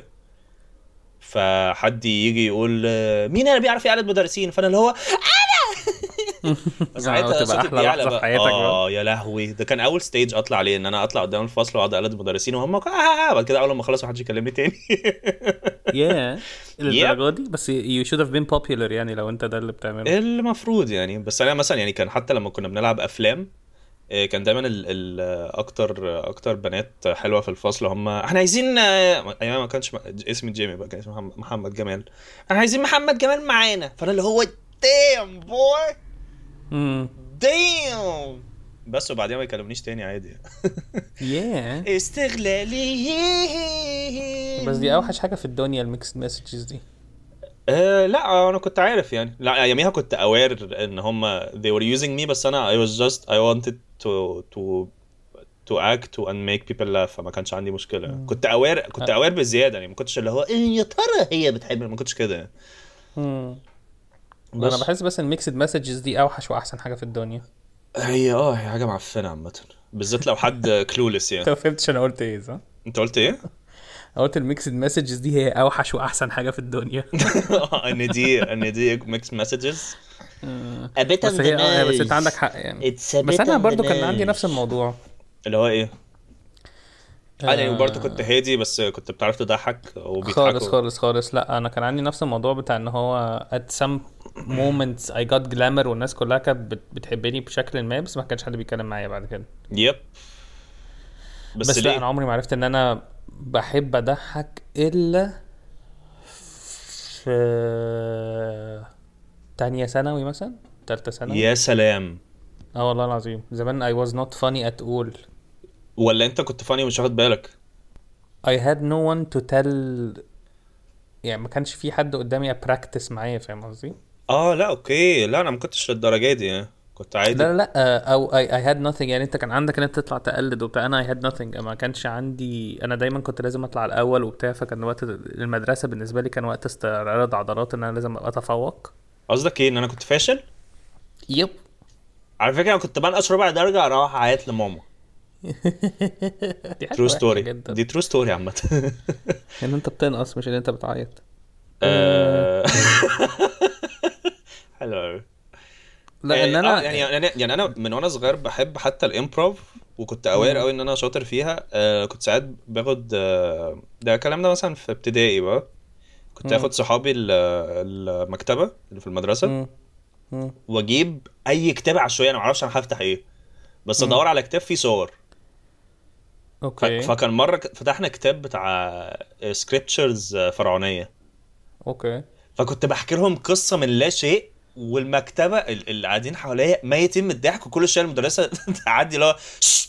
فحد يجي يقول مين اللي بيعرف يعلد مدرسين فانا اللي هو ساعتها تبقى احلى لحظه في حياتك. اه يا لهوي، ده كان اول ستيج اطلع عليه، ان انا اطلع قدام الفصل واقعد اقلد المدرسين وهم اه بعد كده اول ما اخلص محدش يكلمني تاني. ياه الدرجه دي. بس you should have been popular يعني لو انت ده اللي بتعمله. المفروض يعني. بس انا مثلا يعني كان حتى لما كنا بنلعب افلام كان دايما ال ال اكتر اكتر بنات حلوه في الفصل هم احنا عايزين ايام ما كانش اسمي جيمي بقى، كان اسمه محمد جمال، احنا عايزين محمد جمال معانا. فانا اللي هو دام بوي امم دام بس، وبعدين ما يكلمنيش تاني عادي. ياه استغلالي. بس دي اوحش حاجه في الدنيا الميكس مسجز دي. أه لا انا كنت عارف يعني، لا اياميها كنت اوير ان هم they were using me، بس انا I was just I wanted to to to act and make people laugh، فما كانش عندي مشكله. م. كنت اوير كنت اوير بزياده يعني، ما كنتش اللي هو ايه يا ترى هي بتحب، ما كنتش كده. امم انا بحس بس الميكس مسجز دي اوحش واحسن حاجه في الدنيا. هي اه هي حاجه معفنه عامه، بالذات لو حد كلولس يعني. انت فهمتش انا قلت ايه صح؟ انت قلت ايه؟ قلت الميكس مسجز دي هي اوحش واحسن حاجه في الدنيا. ان دي ان دي ميكس مسجز. بس هي اه بس انت عندك حق يعني. بس انا برضو كان عندي نفس الموضوع اللي هو ايه. انا يعني برضو كنت هادي بس كنت بتعرف تضحك وبيضحكوا خالص خالص خالص. لا انا كان عندي نفس الموضوع بتاع ان هو at some moments I got glamour والناس كلها كانت بتحبني بشكل ما، بس ما كانش حد بيتكلم معايا بعد كده. يب بس, بس لا انا عمري ما عرفت ان انا بحب اضحك الا في تانية ثانوي مثلا، تالتة ثانوي. يا سلام. اه والله العظيم زمان I was not funny at all. ولا انت كنت فاني ومش واخد بالك؟ I had no one to tell يعني، ما كانش في حد قدامي practice معايا، فاهم قصدي؟ اه لا اوكي، لا انا ما كنتش للدرجه دي يعني. كنت عادي. لا لا او I, I had nothing يعني. انت كان عندك ان انت تطلع تقلد وبتاع، انا I had nothing. ما كانش عندي، انا دايما كنت لازم اطلع الاول وبتاع، فكان وقت المدرسه بالنسبه لي كان وقت استعراض عضلات، ان انا لازم ابقى اتفوق. قصدك ايه؟ ان انا كنت فاشل؟ يب. على فكره انا كنت بنقص ربع درجه اروح اعيط لماما. دي ترو ستوري، دي ترو ستوري عامه. ان انت بتنقص مش ان انت بتعيط. حلو. لا ان انا يعني يعني انا من وانا صغير بحب حتى الامبروف، وكنت اوير قوي ان انا شاطر فيها. آه كنت ساعات باخد آه ده الكلام ده مثلا في ابتدائي بقى، كنت اخد صحابي المكتبه اللي في المدرسه واجيب اي كتاب عشوائي، انا ما اعرفش انا هفتح ايه، بس ادور على كتاب فيه صور. اوكي. فكان مره فتحنا كتاب بتاع سكريبتشرز فرعونيه. اوكي. فكنت بحكي لهم قصه من لا شيء، والمكتبه اللي قاعدين حواليا ميتين من الضحك، وكل شويه المدرسه تعدي لها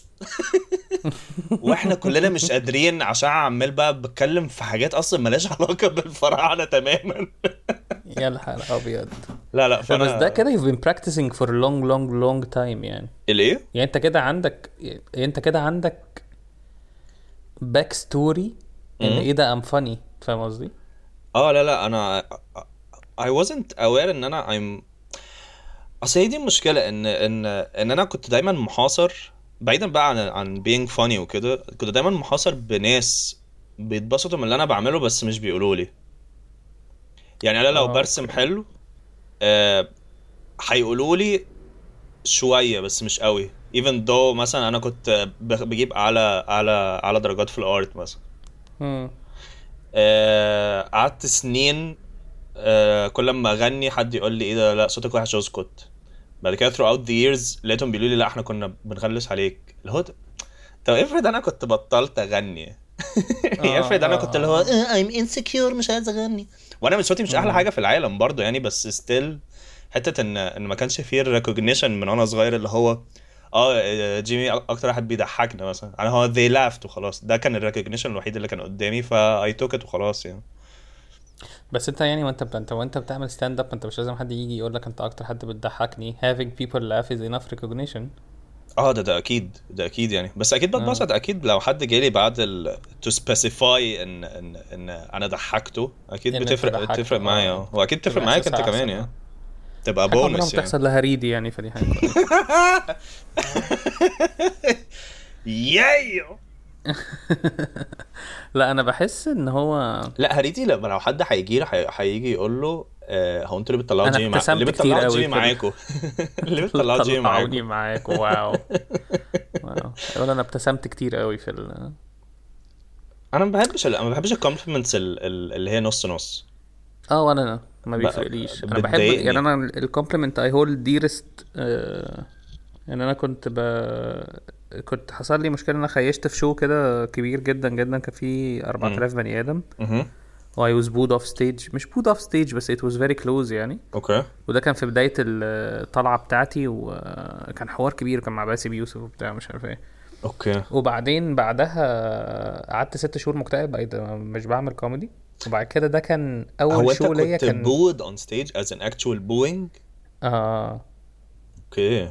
واحنا كلنا مش قادرين عشان عمال بقى بتكلم في حاجات اصلا مالهاش علاقه بالفراعنه تماما. يا الحال ابيض. لا لا فانا بس ده كده you've been practicing for a long long long time يعني. الايه يعني انت كده عندك انت كده عندك باك ستوري ان ايه ده ام فاني، فاهم قصدي؟ اه لا لا انا I wasn't aware ان انا I'm اصل دي المشكله ان ان ان انا كنت دايما محاصر، بعيدا بقى عن عن being funny وكده، كنت دايما محاصر بناس بيتبسطوا من اللي انا بعمله بس مش بيقولوا لي. يعني انا لو آه. برسم حلو آه هيقولوا لي شويه بس مش قوي، even though مثلا انا كنت بجيب اعلى اعلى اعلى درجات في الارت مثلا. امم آه قعدت سنين آه كل ما اغني حد يقول لي ايه ده لا صوتك وحش اسكت. بعد كده throughout the years لقيتهم بيقولوا لي لا احنا كنا بنغلس عليك. اللي هو طب افرض انا كنت بطلت اغني افرض انا كنت اللي هو I'm insecure مش عايز اغني، وانا مش صوتي مش احلى حاجه في العالم برضو يعني، بس still حته ان ان ما كانش فيه recognition من وانا صغير اللي هو اه جيمي اكتر واحد بيضحكنا مثلا، انا هو they laughed وخلاص. ده كان الريكوجنيشن الوحيد اللي كان قدامي، فا I took it وخلاص يعني. بس انت يعني وانت انت وانت بتعمل ستاند اب انت مش لازم حد يجي يقول لك انت اكتر حد بتضحكني. having people laugh is enough recognition. اه ده ده اكيد ده اكيد يعني. بس اكيد بتبسط اكيد لو حد جالي بعد ال to specify ان ان ان انا ضحكته، اكيد بتفرق بتفرق معايا، واكيد بتفرق معاك انت كمان يعني، تبقى بونس يعني. بتحصل لها ريدي يعني، فدي حاجه يايو. لا انا بحس ان هو لا هريدي لما لو حد هيجي له هيجي يقول له آه هو انتوا اللي بتطلعوا أنا جيمي مع... ابتسمت اللي كتير بتطلعوا قوي جيمي في ال- معاكم اللي بتطلعوا جيمي طلعوني معاكم. معاك. واو واو يقول انا ابتسمت كتير قوي في ال... انا ما بحبش انا ما بحبش الكومبلمنتس اللي هي نص نص. اه وانا ما ب- بيفرقليش. انا بحب بتضايقني. يعني انا الكومبلمنت اي هولد ديرست. يعني انا كنت ب... كنت حصل لي مشكله ان انا خيشت في شو كده كبير جدا جدا، كان فيه أربعة آلاف بني ادم اها و I was booed off stage. مش booed off stage بس it was very close يعني. اوكي وده كان في بدايه الطلعه بتاعتي وكان حوار كبير، كان مع باسم يوسف وبتاع مش عارف ايه. اوكي وبعدين بعدها قعدت ست شهور مكتئب بقيت مش بعمل كوميدي. وبعد كده ده كان هو اول انت شو ليا كنت كان بود اون ستيج از ان اكتوال بوينج؟ اه اوكي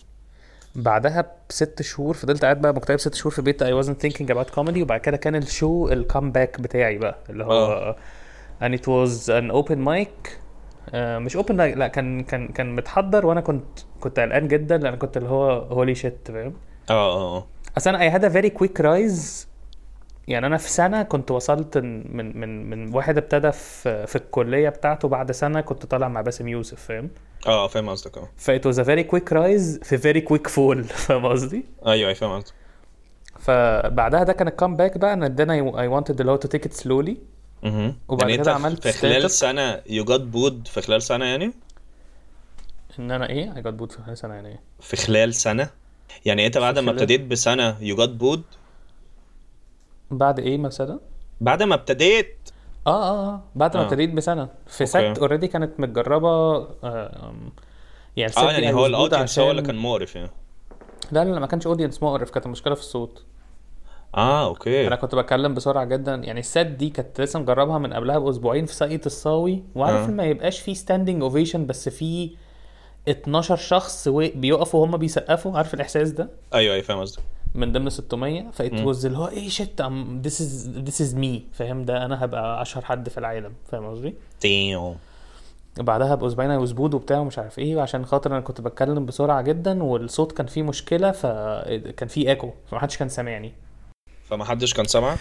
بعدها بست شهور فضلت قاعد بقى مكتئب ست شهور في بيت I wasn't thinking about comedy. وبعد كده كان الشو الكامباك بتاعي بقى اللي هو آه. and it was an open mic. آه مش open mic، لا كان كان كان متحضر وانا كنت كنت قلقان جدا لان كنت اللي هو holy shit فاهم. اه اه اصل انا I had a very quick rise. يعني انا في سنه كنت وصلت من من من واحد ابتدى في في الكليه بتاعته، بعد سنه كنت طالع مع باسم يوسف فاهم. اه فاهم قصدك. اه ف it was a very quick rise في very quick fall فاهم قصدي. ايوه ايوه فاهم قصدك. فبعدها ده كان الكامباك بقى ان then I, I wanted اللي هو to take it slowly. اها وبعد يعني كده انت عملت في خلال stand-up. سنه you got بود في خلال سنه يعني ان انا ايه I got boot في سنه يعني ايه في خلال سنه يعني انت بعد ما خلال- ابتديت بسنه you got بود بعد ايه مثلا. بعد ما ابتديت اه اه اه بعد ما آه. ابتديت بسنه في أوكي. سات اوريدي كانت متجربه. آه يعني الست اه دي يعني I هو was boot الاودينس هو اللي عشان- كان مقرف يعني. لا لا لا ما كانش اودينس مقرف، كانت المشكله في الصوت. اه اوكي انا كنت بتكلم بسرعه جدا. يعني السات دي كانت لسه مجربها من قبلها باسبوعين في ساقية الصاوي، وعارف آه. ان ما يبقاش في ستاندينج اوفيشن بس في اتناشر شخص و- بيقفوا وهم بيسقفوا، عارف الاحساس ده ايوه ايوه فاهم قصدك. من ضمن ستمية. فايت واز اللي هو ايه شت ام this is this is me فاهم. ده انا هبقى اشهر حد في العالم فاهم قصدي. دايم بعدها باسبوعين I was bored وبتاع ومش عارف ايه، عشان خاطر انا كنت بتكلم بسرعه جدا والصوت كان فيه مشكله فكان فيه ايكو فمحدش كان سامعني. فما حدش كان سامعك.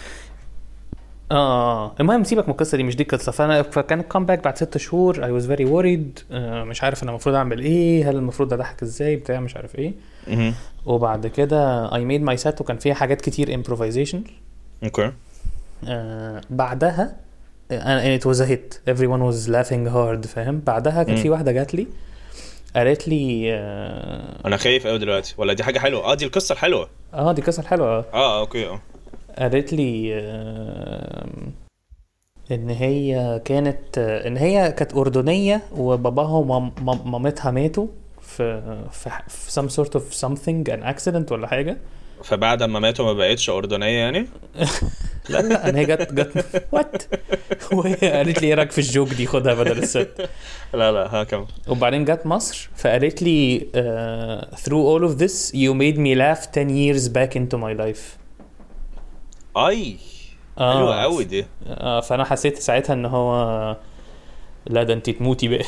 اه المهم سيبك من القصه دي، مش دي القصه. فانا فكان الكامباك بعد ست شهور I was very worried. آه مش عارف انا المفروض اعمل ايه، هل المفروض اضحك ازاي بتاع مش عارف ايه. اها وبعد كده I made my set وكان فيها حاجات كتير improvisation. اوكي آه بعدها آه it was a hit everyone was laughing hard فاهم. بعدها كان في واحده جات لي قالت لي اه, انا خايف قوي دلوقتي ولا دي حاجه حلوه؟ اه دي القصه الحلوه. آه دي قصه حلوه. اه اه اوكي اه قالت لي آه ان هي كانت آه ان هي كانت اردنيه وباباها ومامتها ماتوا في في في some sort of something an accident ولا حاجه. فبعد ما ماتوا ما بقتش اردنيه يعني؟ لا لا انا هي جت جت وات وهي قالت لي ايه رايك في الجوك دي خدها بدل الست. لا لا ها كم. وبعدين جت مصر فقالت لي uh, through all of this you made me laugh ten years back into my life. اي آه. حلوه قوي دي. آه فانا حسيت ساعتها ان هو لا ده انت تموتي بقى.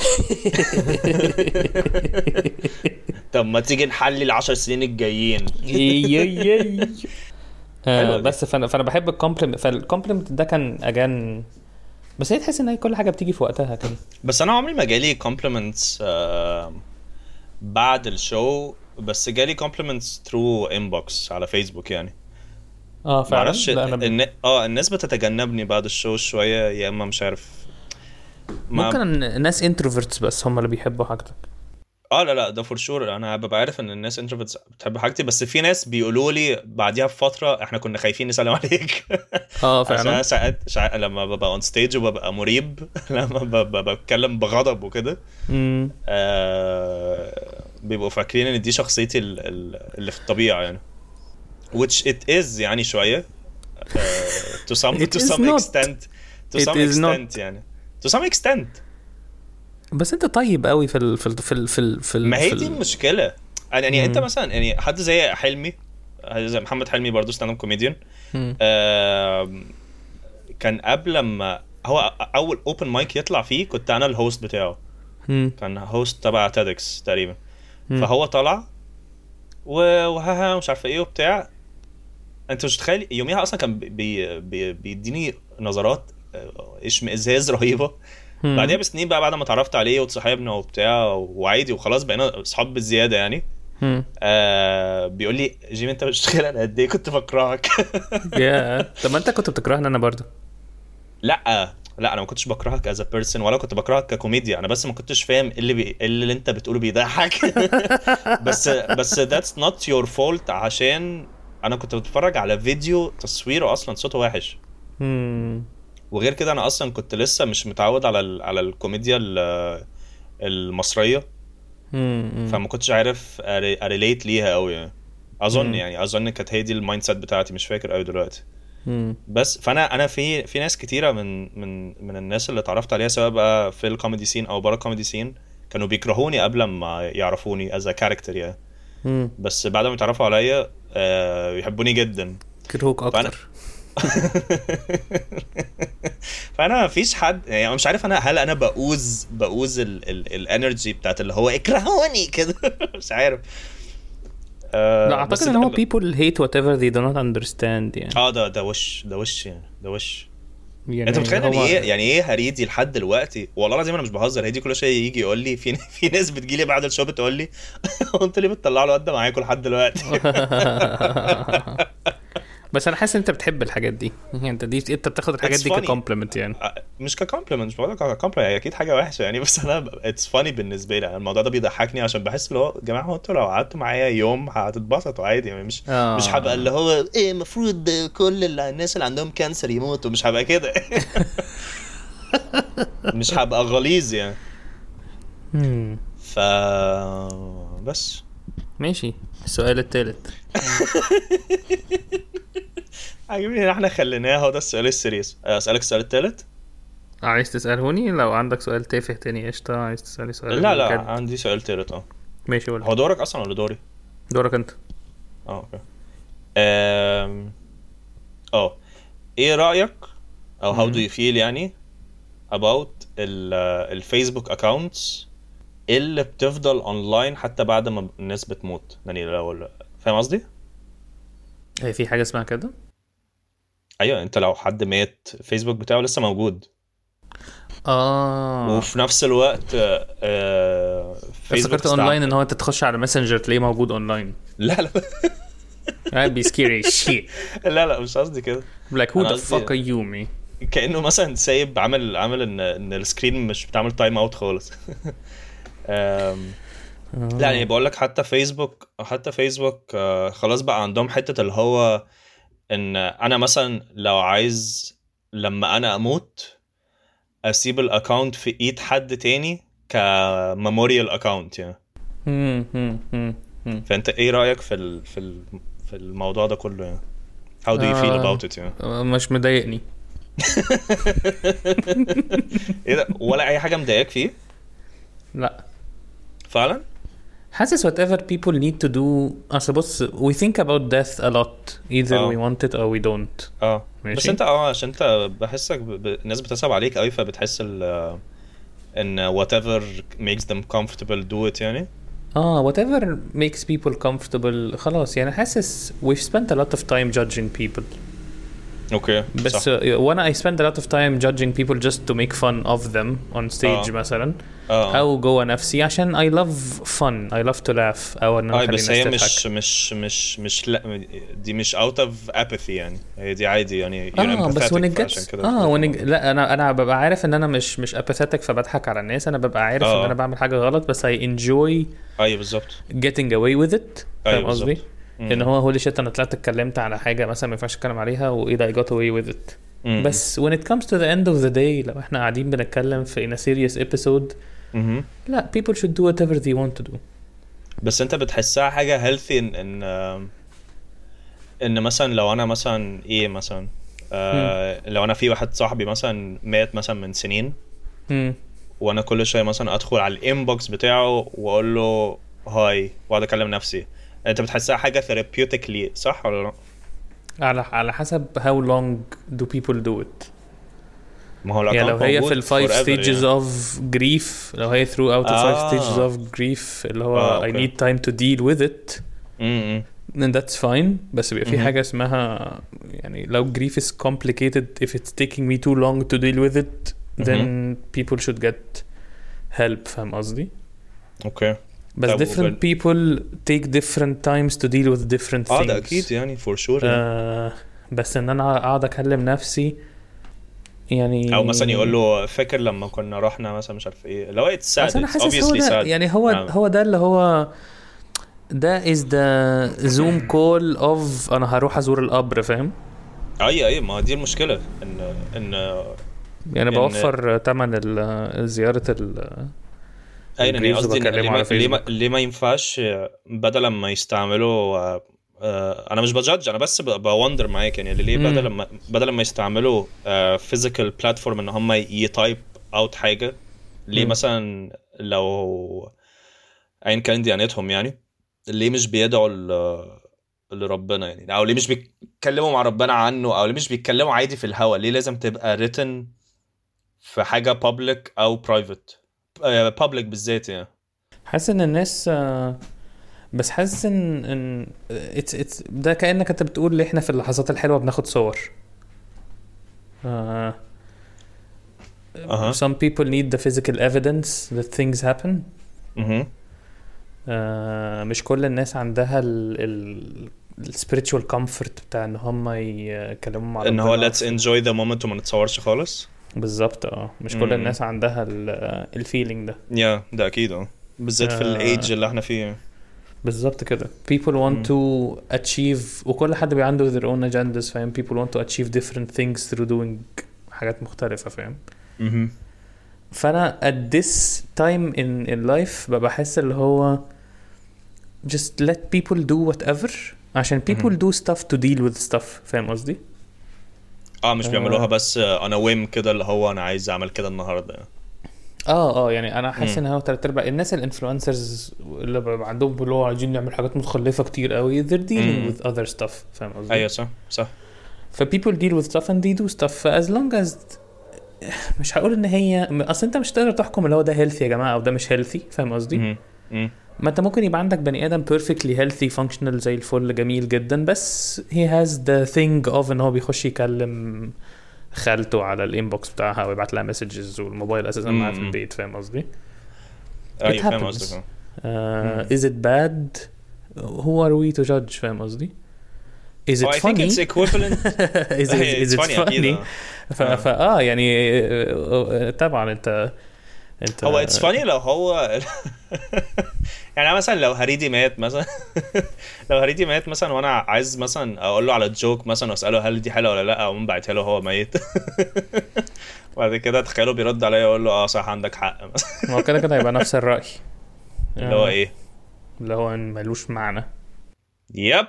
طب ما تيجي نحلل العشر سنين الجايين. آه بس فانا فانا بحب الكومبلمنت. فالكومبلمنت ده كان اجان بس هي تحس ان هي كل حاجه بتيجي في وقتها كده. بس انا عمري ما جالي كومبلمنتس آه بعد الشو، بس جالي كومبلمنتس ثرو انبوكس على فيسبوك يعني. اه فعلا. معرفش لا أنا ب... الن... اه الناس بتتجنبني بعد الشو شويه يا اما مش عارف ما... ممكن الناس انتروفيرتس بس هم اللي بيحبوا حاجتك. اه لا لا ده فور شور. انا ببقى عارف ان الناس انتروفيرتس بتحب حاجتي، بس في ناس بيقولوا لي بعديها بفتره احنا كنا خايفين نسلم عليك. اه فعلا. ساعات ساعات لما ببقى اون ستيج وببقى مريب لما ببقى بتكلم بغضب وكده آه بيبقوا فاكرين ان دي شخصيتي اللي في الطبيعه يعني which it is يعني شويه uh, to some to some not. extent to It some is extent not. يعني to some extent. بس انت طيب قوي في ال في ال في ال في, ال في ما هي في دي ال... المشكله يعني. مم. انت مثلا يعني حد زي حلمي زي محمد حلمي برضو ستاند اب كوميديان آه كان قبل لما هو اول اوبن مايك يطلع فيه كنت انا الهوست بتاعه. مم. كان هوست تبع تيدكس تقريبا. مم. فهو طلع وها مش عارف ايه وبتاع انت مش تخيل يوميها اصلا كان بي بي بيديني نظرات اشمئزاز رهيبه. بعدها بسنين بقى بعد ما اتعرفت عليه وتصاحبنا وبتاع وعادي وخلاص بقينا اصحاب بالزياده يعني. آه بيقول لي جيمي انت مش تخيل انا قد ايه كنت بكرهك. يا طب ما انت كنت بتكرهني انا برضو. لا لا انا ما كنتش بكرهك از ا بيرسون ولا كنت بكرهك ككوميديا. انا بس ما كنتش فاهم اللي بي... اللي انت بتقوله بيضحك. بس بس that's not your fault عشان انا كنت بتفرج على فيديو تصويره اصلا صوته وحش. امم وغير كده انا اصلا كنت لسه مش متعود على ال... على الكوميديا المصريه. امم فما كنتش عارف اريليت ليها قوي يعني. اظن مم. يعني اظن كانت هي دي المايند سيت بتاعتي مش فاكر قوي دلوقتي. مم. بس فانا انا في في ناس كتيره من من من الناس اللي اتعرفت عليها سواء بقى في الكوميدي سين او بره الكوميدي سين كانوا بيكرهوني قبل ما يعرفوني از ا كاركتر يعني. مم. بس بعد ما يتعرفوا عليا آه يحبوني جدا كرهوك اكتر. فانا مفيش حد يعني مش عارف انا هل انا بقوز بقوز الانرجي بتاعت اللي هو اكرهوني كده. مش عارف. آه لا اعتقد ان هو people hate whatever they do not understand يعني. اه ده ده وش ده وش يعني ده وش يعني انت متخيل يعني ايه يعني ايه هريدي لحد دلوقتي والله العظيم انا مش بهزر. هدي كل شيء يجي يقول لي في في ناس بتجيلي بعد الشو بتقول لي انت ليه بتطلع له قد معاكم لحد دلوقتي. بس انا حاسس ان انت بتحب الحاجات دي يعني. انت دي انت بتاخد الحاجات دي ككومبلمنت يعني. مش ككومبلمنت مش بقول لك ككومبلمنت هي اكيد حاجه وحشه يعني. بس انا اتس فاني بالنسبه لي الموضوع ده بيضحكني عشان بحس اللي هو يا جماعه هو انتوا لو قعدتوا معايا يوم هتتبسطوا عادي يعني. مش آه. مش هبقى اللي هو ايه المفروض كل الناس اللي عندهم كانسر يموتوا. مش هبقى كده. مش هبقى غليظ يعني. ف بس ماشي. السؤال الثالث عجبني ان احنا خليناه هو ده السؤال السيريس. اسالك السؤال الثالث. عايز تسالهوني لو عندك سؤال تافه تاني قشطه. عايز تسالي سؤال لا لا بجد. عندي سؤال ثالث. اه ماشي قول. هو دورك اصلا ولا دوري؟ دورك انت. اه اوكي. امم اه ايه رايك او how do you feel يعني about الفيسبوك اكاونتس اللي بتفضل اونلاين حتى بعد ما الناس بتموت يعني؟ لو فاهم قصدي؟ هي في حاجه اسمها كده؟ ايوه انت لو حد مات فيسبوك بتاعه لسه موجود. اه وفي نفس الوقت آه فيسبوك اونلاين ان هو انت تخش على ماسنجر تلاقيه موجود اونلاين. لا لا I be scary shit. لا لا مش قصدي كده. like who the fuck are you me. كأنه مثلا سايب عامل عامل ان ان السكرين مش بتعمل تايم اوت خالص. لا يعني بقول لك حتى فيسبوك حتى فيسبوك آه خلاص بقى عندهم حتة اللي هو ان انا مثلا لو عايز لما انا اموت اسيب الاكاونت في ايد حد تاني كميموريال اكاونت يعني. فانت ايه رايك في ال في ال في الموضوع ده كله يعني؟ how do you feel about it يعني؟ مش مضايقني. ايه ده ولا اي حاجه مضايقك فيه؟ لا فعلا حاسس whatever people need to do. اصل بص we think about death a lot either أوه. we want it or we don't. اه بس انت اه عشان انت بحسك ب... الناس بتصعب عليك قوي فبتحس ال ان whatever makes them comfortable do it يعني. اه whatever makes people comfortable خلاص يعني. حاسس we've spent a lot of time judging people. اوكي بس وانا I spend a lot of time judging people just to make fun of them on stage آه. مثلا آه. او جوه نفسي عشان I love fun I love to laugh او ان انا بس هي مش مش مش مش لا دي مش out of apathy يعني. هي دي عادي يعني you're آه empathetic بس when اه when لا انا انا ببقى عارف ان انا مش مش apathetic فبضحك على الناس. انا ببقى عارف آه. ان انا بعمل حاجه غلط بس I enjoy ايوه بالظبط getting away with it. فاهم قصدي؟ ان هو هولي شيت انا طلعت اتكلمت على حاجه مثلا ما ينفعش اتكلم عليها وايه ده I got away with it. مم. بس when it comes to the end of the day لو احنا قاعدين بنتكلم في in a serious episode مم. لا people should do whatever they want to do. بس انت بتحسها حاجه healthy ان ان, إن مثلا لو انا مثلا ايه مثلا آه لو انا في واحد صاحبي مثلا مات مثلا من سنين مم. وانا كل شويه مثلا ادخل على الانبوكس بتاعه واقول له هاي واقعد اكلم نفسي. انت بتحسها حاجه ثيرابيوتيكلي صح ولا لا؟ على على حسب how long do people do it. ما هو يعني لو هي في الفايف stages يعني. of grief لو هي throughout the five آه. stages of grief اللي هو آه, okay. I need time to deal with it. امم and that's fine. بس بيبقى في حاجة اسمها يعني لو grief is complicated, if it's taking me too long to deal with it, then people should get help. فاهم قصدي؟ اوكي. بس different people take different times to deal with different things. اه ده اكيد يعني for sure. آه بس ان انا اقعد اكلم نفسي يعني، او مثلا يقول له فاكر لما كنا رحنا مثلا مش عارف ايه، لو it's sad it's obviously هو sad يعني هو نعم. هو ده اللي هو ده is the zoom call of انا هروح ازور القبر. فاهم؟ اي اي ما دي المشكله ان ان يعني إن بوفر ثمن زياره ال اي يعني قصدي ليه ما ليه ما, ليه ما ينفعش بدل ما يستعملوا انا مش بجادج انا بس بوندر معاك يعني ليه بدل ما بدل ما يستعملوا فيزيكال بلاتفورم ان هم يتايب اوت حاجه ليه مم. مثلا لو ايا كان ديانتهم يعني ليه مش بيدعوا لربنا يعني، او ليه مش بيتكلموا مع ربنا عنه، او ليه مش بيتكلموا عادي في الهوا؟ ليه لازم تبقى written في حاجه public او private؟ public بالذات يعني. حاسس ان الناس بس حاسس ان ان it's it's ده كأنك انت بتقول لي احنا في اللحظات الحلوه بناخد صور. uh, uh-huh. Some people need the physical evidence that things happen. uh-huh. uh, مش كل الناس عندها ال ال spiritual comfort بتاع ان هم يكلموا مع ربنا ان هو let's enjoy the moment وما نتصورش خالص. بالظبط اه مش كل الناس عندها الفيلينج ده. يا yeah, ده اكيد اه بالذات في الايدج اللي احنا فيه. بالظبط كده. people want to achieve وكل حد بي عنده their own agendas. فاهم؟ people want to achieve different things through doing حاجات مختلفة. فاهم؟ اها فانا at this time in in life بحس اللي هو just let people do whatever عشان people do stuff to deal with stuff. فاهم قصدي؟ اه مش بيعملوها بس انا ويم كده اللي هو انا عايز اعمل كده النهارده. اه اه يعني انا حاسس ان هو ثلاث ارباع الناس الانفلونسرز اللي عندهم اللي هو عايزين نعمل حاجات متخلفه كتير قوي they're dealing مم. with other stuff. فاهم قصدي؟ ايوه صح صح. ف people deal with stuff and they do stuff as long as مش هقول ان هي اصل انت مش تقدر تحكم اللي هو ده healthy يا جماعه او ده مش healthy. فاهم قصدي؟ ما انت ممكن يبقى عندك بني ادم perfectly healthy functional زي الفل جميل جدا بس he has the thing of ان هو بيخش يكلم خالته على الانبوكس بتاعها ويبعت لها مسجز والموبايل اساسا معاه في البيت. فاهم قصدي؟ ايوه فاهم قصدك. uh, is it bad? who are we to judge؟ فاهم قصدي؟ is it oh, I funny? think it's equivalent. is it, is it funny, funny? ف اه يعني طبعا انت انت هو it's funny لو هو يعني مثلا لو هريدي مات مثلا لو هريدي مات مثلا وانا عايز مثلا اقول له على جوك مثلا واساله هل دي حلوه ولا لا او من بعتها له هو ميت وبعد كده تخيله بيرد عليا يقول له اه صح عندك حق مثلا. هو كده كده هيبقى نفس الراي اللي هو ايه اللي هو ملوش معنى. يب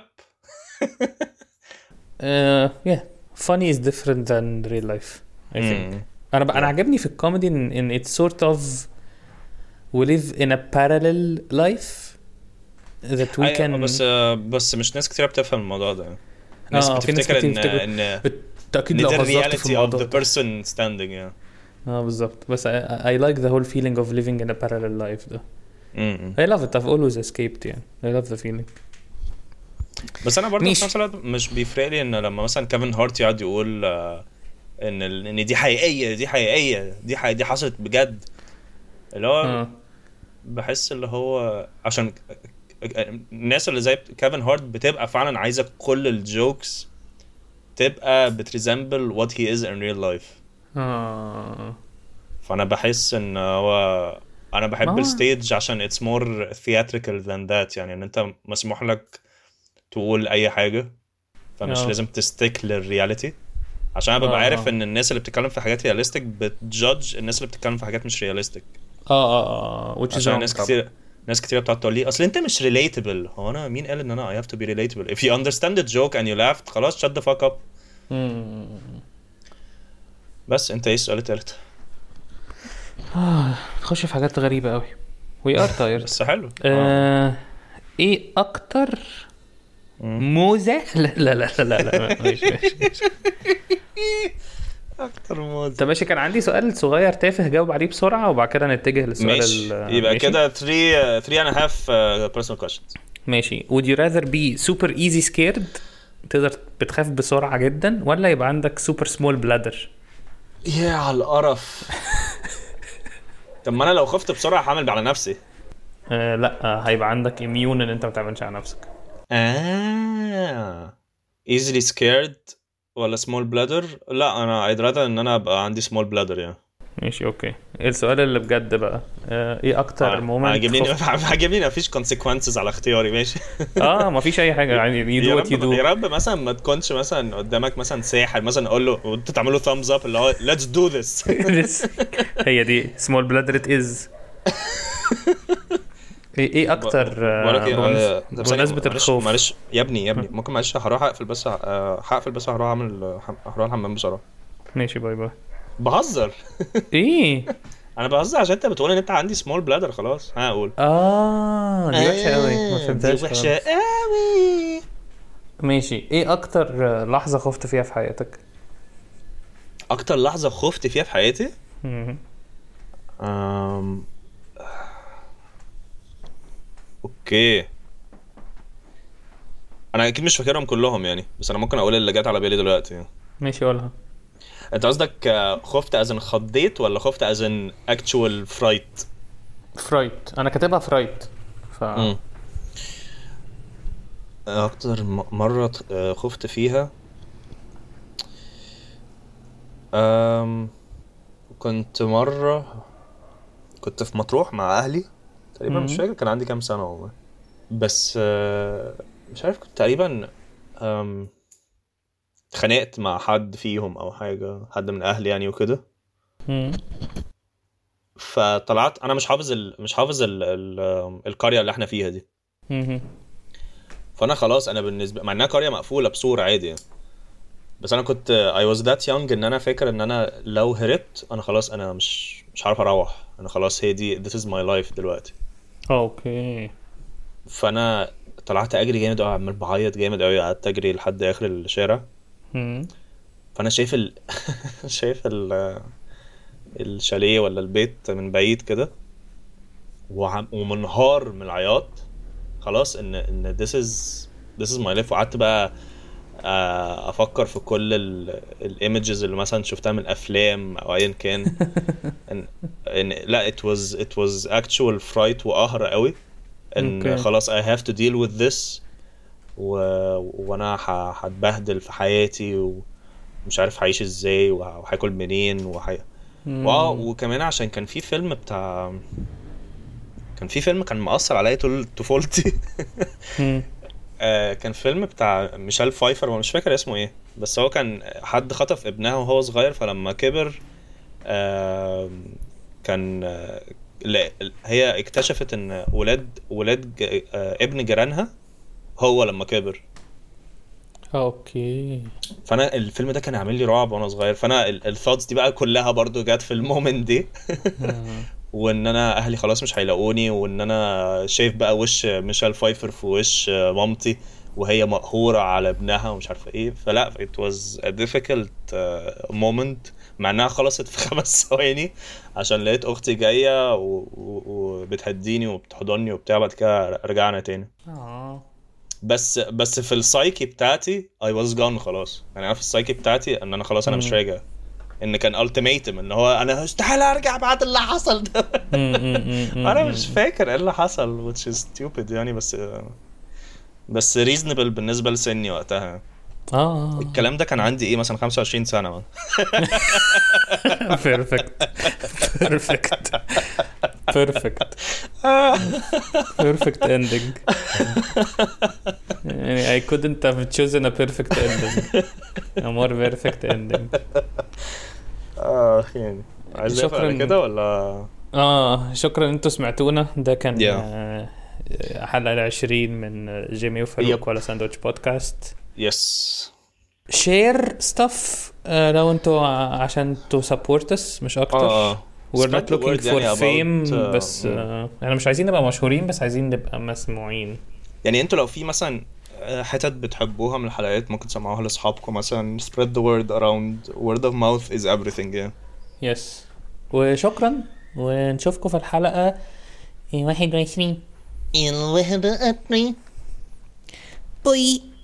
uh, yeah funny is different than real life I think. mm. انا ب... انا عجبني في الكوميدي ان ان it's sort of we live in a parallel life that we can. بس بس مش ناس كتير بتفهم الموضوع ده. ناس آه بتفتكر ان ان بالتاكيد لو هزرت في الموضوع of the person standing yeah. اه بالظبط. بس I, I like the whole feeling of living in a parallel life ده. mm-hmm. I love it. I've always escaped يعني. I love the feeling. بس انا برضه في نفس الوقت مش بيفرق لي ان لما مثلا كيفن هارت يقعد يقول ان ان دي حقيقيه دي حقيقيه دي حقيقية دي حصلت بجد اللي هو بحس اللي هو عشان الناس اللي زي كيفن هارت بتبقى فعلا عايزه كل الجوكس تبقى بتريزمبل what he is in real life. اه فانا بحس ان هو انا بحب الستيج عشان it's more theatrical than that يعني ان انت مسموح لك تقول اي حاجه فمش أوه. لازم تستيك للرياليتي عشان انا ببقى عارف ان الناس اللي بتتكلم في حاجات رياليستيك بتجادج الناس اللي بتتكلم في حاجات مش رياليستيك. اه اه اه عشان ناس كتير ناس كتير بتقعد تقول لي اصل انت مش ريليتبل. هو انا مين قال ان انا I have to be relatable؟ if you understand the joke and you laughed خلاص shut the fuck up. بس انت ايه السؤال التالت؟ اه نخش في حاجات غريبه قوي. we are tired. بس حلو. آه. ايه اكتر موزة؟ لا لا لا لا لا مش مش اكتر موزة. طب ماشي كان عندي سؤال صغير تافه جاوب عليه بسرعة وبعد كده نتجه للسؤال يبقى كده three three and a half uh, personal questions. ماشي. would you rather be super easy scared تقدر بتخاف بسرعة جدا ولا يبقى عندك super small bladder؟ يا على القرف. طب ما انا لو خفت بسرعة هعمل على نفسي. آه لا آه هيبقى عندك immune ان انت ما تعملش على نفسك. آه easily scared ولا small bladder؟ لا انا I'd rather ان انا ابقى عندي small bladder يعني. ماشي اوكي. السؤال اللي بجد بقى آه ايه اكتر مومنت عجبني عجبني مفيش consequences على اختياري. ماشي. اه مفيش اي حاجه يعني you do what you do. يا رب مثلا ما تكونش مثلا قدامك مثلا ساحر مثلا اقول له وانت تعمل له thumbs up اللي هو let's do this. هي دي small bladder it is. ايه ايه اكتر بمناسبة الخوف؟ معلش يا ابني يا ابني ممكن معلش هروح اقفل بس هقفل بس هروح اعمل هروح الحمام بسرعه. ماشي باي باي. بهزر. ايه انا بهزر عشان انت بتقول ان انت عندي سمول بلادر خلاص. ها اقول اه دي وحشه قوي ما فهمتهاش. دي وحشه قوي. ماشي. ايه اكتر لحظه خفت فيها في حياتك؟ اكتر لحظه خفت فيها في حياتي امم اوكي انا اكيد مش فاكرهم كلهم يعني بس انا ممكن اقول اللي جات على بالي دلوقتي يعني. ماشي قولها. انت قصدك خفت ازن خضيت ولا خفت ازن actual fright؟ fright. انا كاتبها fright ف م. اكتر مره خفت فيها امم كنت مره كنت في مطروح مع اهلي تقريبا. مش فاكر كان عندي كام سنه والله بس مش عارف كنت تقريبا امم خنقت مع حد فيهم او حاجه حد من اهلي يعني وكده. فطلعت انا مش حافظ ال... مش حافظ ال... ال... القريه اللي احنا فيها دي. فانا خلاص انا بالنسبه مع انها قريه مقفوله بسور عادي يعني. بس انا كنت I was that young ان انا فاكر ان انا لو هربت انا خلاص انا مش مش عارف اروح. انا خلاص هي دي this is my life دلوقتي. اوكي. فانا طلعت اجري جامد قوي عمال بعيط جامد قوي قعدت اجري لحد اخر الشارع. فانا شايف ال... شايف ال... الشاليه ولا البيت من بعيد كده وعم... ومنهار من العياط خلاص ان ان this is this is my life. وقعدت بقى افكر في كل الايمجز اللي مثلا شفتها من الافلام او ايا كان. إن... إن... لا it was it was actual fright وقهر قوي ان okay. خلاص I have to deal with this و... وانا هتبهدل في حياتي ومش عارف هعيش ازاي وهاكل منين وح... واو. وكمان عشان كان في فيلم بتاع كان في فيلم كان مؤثر عليا طول طفولتي. آه كان فيلم بتاع ميشيل فايفر ومش فاكر اسمه ايه بس هو كان حد خطف ابنها وهو صغير فلما كبر آه كان آه هي اكتشفت ان ولاد ولاد آه ابن جيرانها هو لما كبر. اوكي. فانا الفيلم ده كان عامل لي رعب وانا صغير. فانا الثوتس دي بقى كلها برضو جات في المومنت دي. وان انا اهلي خلاص مش هيلاقوني وان انا شايف بقى وش ميشيل فايفر في وش مامتي وهي مقهوره على ابنها ومش عارفه ايه. فلا it was a difficult moment مع انها خلصت في خمس ثواني عشان لقيت اختي جايه وبتهديني وبتحضني وبتاع. بعد كده رجعنا تاني. اه بس بس في السايكي بتاعتي I was gone خلاص يعني. انا في السايكي بتاعتي ان انا خلاص انا مش راجع. ان كان ultimatum ان هو انا استحيل ارجع بعد اللي حصل ده. انا مش فاكر ايه اللي حصل which is stupid يعني بس بس reasonable بالنسبه لسني وقتها. اه الكلام ده كان عندي ايه مثلا خمسة وعشرين سنه. بيرفكت بيرفكت بيرفكت بيرفكت اندنج يعني I couldn't have chosen a perfect ending a more perfect ending. اه يعني عايز شكرا كده ولا اه شكرا انتوا سمعتونا. ده كان yeah. حلقه العشرين من جيمي وفاروق yep. ولا ساندويتش بودكاست. يس شير ستاف لو انتوا عشان تو سبورتس مش اكتر. اه we're not looking for يعني fame uh, بس احنا uh, مش عايزين نبقى مشهورين بس عايزين نبقى مسموعين. يعني انتوا لو في مثلا حتت بتحبوها من الحلقات ممكن تسمعوها لاصحابكم مثلا. spread the word around. word of mouth is everything yeah. yes. وشكرا ونشوفكم في الحلقة واحد وعشرين. الواحد وعشرين بوي.